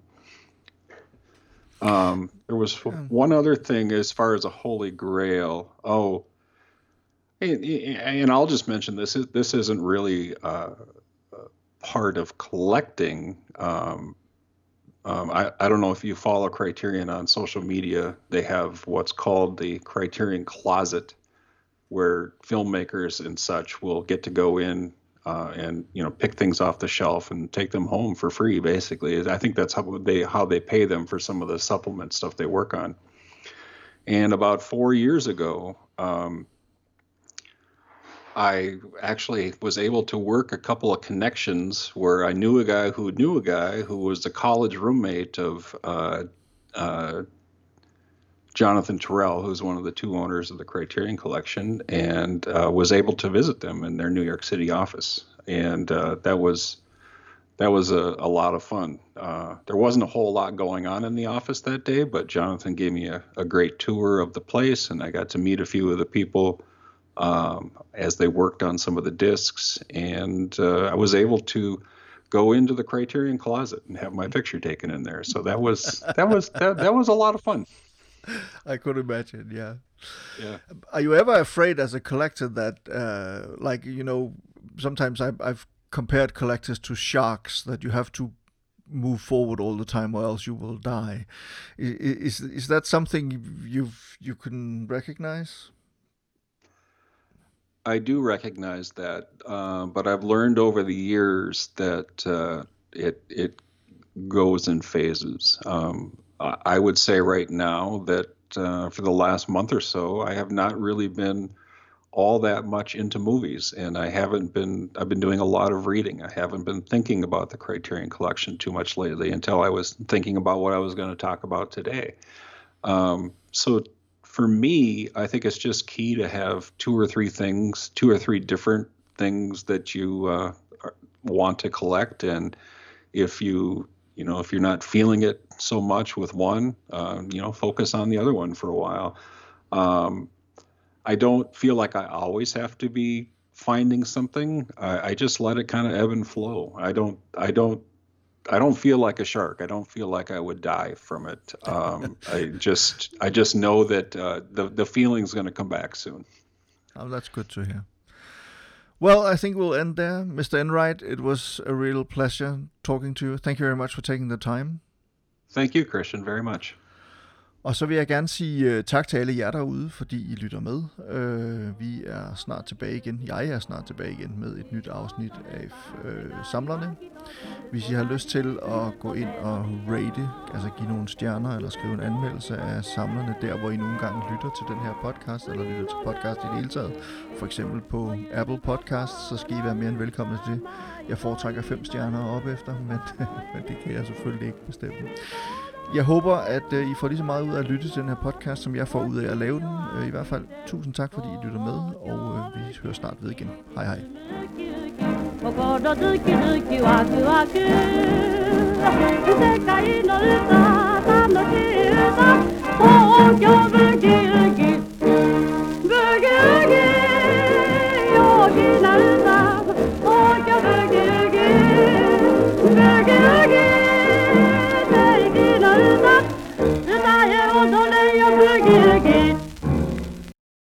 Um, there was one other thing as far as a Holy Grail. Oh, and, and I'll just mention this. This isn't really uh, part of collecting. Um, um, I, I don't know if you follow Criterion on social media. They have what's called the Criterion Closet, where filmmakers and such will get to go in Uh, and you know, pick things off the shelf and take them home for free. Basically, I think that's how they how they pay them for some of the supplement stuff they work on. And about four years ago, um, I actually was able to work a couple of connections where I knew a guy who knew a guy who was the college roommate of uh, uh, Jonathan Terrell, who's one of the two owners of the Criterion Collection, and uh, was able to visit them in their New York City office. And uh, that was that was a, a lot of fun. Uh, there wasn't a whole lot going on in the office that day, but Jonathan gave me a, a great tour of the place, and I got to meet a few of the people um, as they worked on some of the discs. And uh, I was able to go into the Criterion Closet and have my picture taken in there. So that was that was that, that was a lot of fun. I could imagine, yeah. Yeah. Are you ever afraid as a collector that, uh, like, you know, sometimes I've, I've compared collectors to sharks, that you have to move forward all the time or else you will die. Is is that something you've you can recognize? I do recognize that, uh, but I've learned over the years that uh, it it goes in phases. Um, I would say right now that uh, for the last month or so, I have not really been all that much into movies, and I haven't been. I've been doing a lot of reading. I haven't been thinking about the Criterion Collection too much lately until I was thinking about what I was going to talk about today. Um, so for me, I think it's just key to have two or three things, two or three different things that you uh, want to collect, and if you You know, if you're not feeling it so much with one, uh, you know, focus on the other one for a while. Um, I don't feel like I always have to be finding something. I, I just let it kind of ebb and flow. I don't, I don't, I don't feel like a shark. I don't feel like I would die from it. Um, I just, I just know that uh, the the feeling's going to come back soon. Oh, that's good to hear. Well, I think we'll end there. Mister Enright, it was a real pleasure talking to you. Thank you very much for taking the time. Thank you, Christian, very much. Og så vil jeg gerne sige uh, tak til alle jer derude, fordi I lytter med. Uh, vi er snart tilbage igen. Jeg er snart tilbage igen med et nyt afsnit af uh, Samlerne. Hvis I har lyst til at gå ind og rate, altså give nogle stjerner eller skrive en anmeldelse af Samlerne, der hvor I nogle gange lytter til den her podcast, eller lytter til podcast i det hele taget, for eksempel på Apple Podcasts, så skal I være mere end velkomne til. Jeg foretrækker fem stjerner op efter, men, men det kan jeg selvfølgelig ikke bestemme. Jeg håber, at øh, I får lige så meget ud af at lytte til den her podcast, som jeg får ud af at lave den. Øh, I hvert fald tusind tak, fordi I lytter med, og øh, vi hører snart ved igen. Hej hej. 心ズキズキワクワク世界の歌楽しい歌東京ブギウギブギウギ陽気な歌